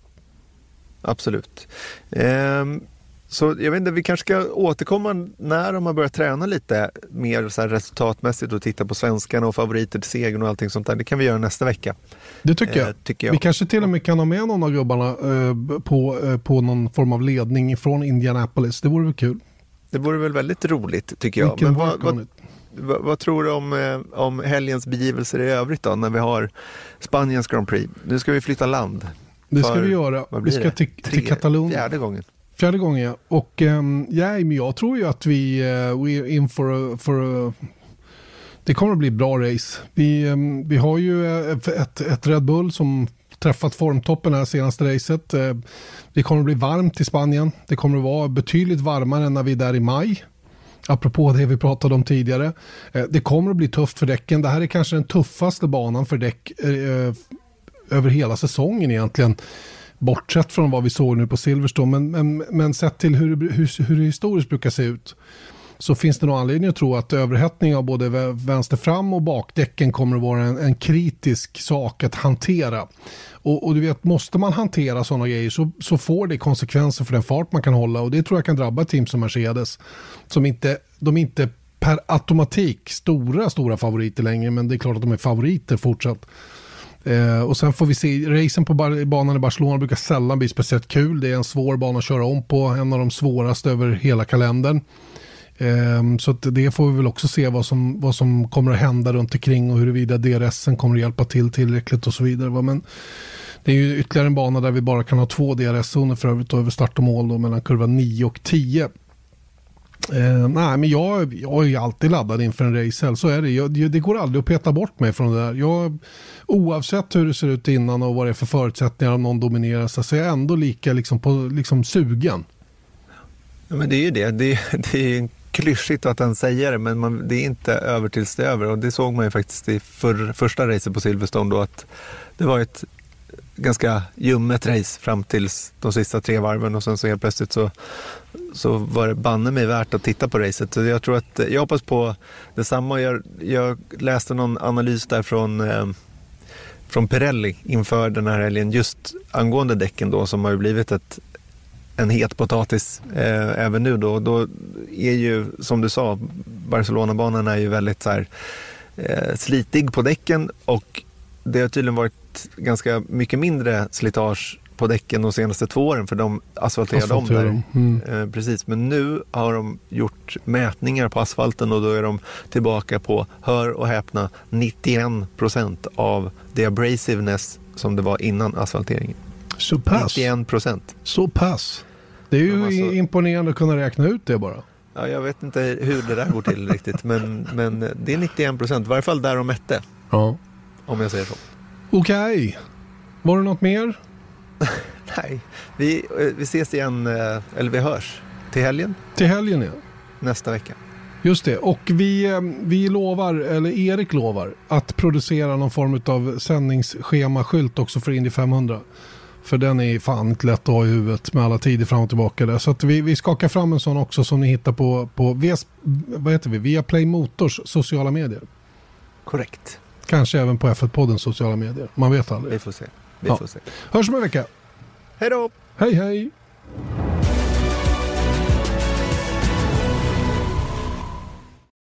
Absolut. Ehm. Så jag vet inte, vi kanske ska återkomma när de har börjat träna lite mer så här resultatmässigt och titta på svenskarna och favoriter till segern och allting sånt där. Det kan vi göra nästa vecka. Det tycker jag. Eh, tycker jag. Vi kanske till och med kan ha med någon av gubbarna eh, på, eh, på någon form av ledning från Indianapolis. Det vore väl kul. Det vore väl väldigt roligt tycker jag. Men vad, vad, vad, vad tror du om, eh, om helgens begivelser i övrigt då, när vi har Spaniens Grand Prix? Nu ska vi flytta land. Det ska vi göra. Vi ska till, till Katalonien. Fjärde gången. Fjärde gången, ja. Och um, ja, men jag tror ju att vi uh, we're in for a, for a, det kommer att bli bra race. Vi, um, vi har ju ett, ett Red Bull som träffat formtoppen här senaste racet. Uh, det kommer att bli varmt i Spanien. Det kommer att vara betydligt varmare än när vi är där i maj. Apropå det vi pratade om tidigare. Uh, det kommer att bli tufft för däcken. Det här är kanske den tuffaste banan för däck uh, över hela säsongen egentligen. Bortsett från vad vi såg nu på Silverstone, men, men, men sett till hur, hur, hur det historiskt brukar se ut, så finns det nog anledning att tro att överhettning av både vänster fram och bakdäcken kommer att vara en, en kritisk sak att hantera. Och, och du vet, måste man hantera sådana grejer så, så får det konsekvenser för den fart man kan hålla, och det tror jag kan drabba team som Mercedes, som inte, de är inte per automatik stora, stora favoriter längre, men det är klart att de är favoriter fortsatt. Eh, och sen får vi se, racen på bar- banan i Barcelona brukar sällan bli speciellt kul. Det är en svår bana att köra om på, en av de svåraste över hela kalendern. Eh, så att det får vi väl också se vad som, vad som kommer att hända runt omkring och huruvida D R S:en kommer att hjälpa till tillräckligt och så vidare. Men det är ju ytterligare en bana där vi bara kan ha två D R S-zoner för övrigt över start och mål då, mellan kurva nio och tio. Eh, nej, men jag, jag är alltid laddad inför en race. Så är det. Jag, det går aldrig att peta bort mig från det där. Jag, oavsett hur det ser ut innan och vad det är för förutsättningar om någon dominerar, så är jag ändå lika liksom, på, liksom sugen. Ja, men det är ju det. Det är, det är klyschigt att han säger det, men man, det är inte över tills det är över. Och det såg man ju faktiskt i för, första racet på Silverstone då, att det var ett ganska ljummet race fram tills de sista tre varven, och sen så helt plötsligt så, så var det banne mig värt att titta på racet. Så jag tror att, jag hoppas på detsamma. Jag, jag läste någon analys där från, eh, från Pirelli inför den här helgen just angående däcken då, som har ju blivit ett, en het potatis eh, även nu då. Då är ju, som du sa, Barcelona-banan är ju väldigt så här, eh, slitig på däcken, och det har tydligen varit ganska mycket mindre slitage på däcken de senaste två åren, för de asfalterade om där. Mm. Eh, precis, men nu har de gjort mätningar på asfalten, och då är de tillbaka på, hör och häpna, nittioen procent av the abrasiveness som det var innan asfalteringen. Så pass. nittioen procent. Så pass. Det är ju alltså imponerande att kunna räkna ut det bara. Ja, jag vet inte hur det där går till riktigt, men, men det är nittioen procent, i varje fall där de mätte. Ja. Om jag säger så. Okej. Okay. Var det något mer? Nej, vi, vi ses igen, eller vi hörs till helgen. Till helgen, ja. Nästa vecka. Just det, och vi, vi lovar, eller Erik lovar, att producera någon form av sändningsschemaskylt också för Indy femhundra. För den är fan inte lätt att ha i huvudet med alla tider fram och tillbaka där. Så att vi, vi skakar fram en sån också som ni hittar på, på via, vad heter vi? Via Play Motors sociala medier. Korrekt. Kanske även på F ett-poddens sociala medier. Man vet aldrig. Vi får se. Vi ja. får se. Hörs om en vecka. Hej då! Hej hej!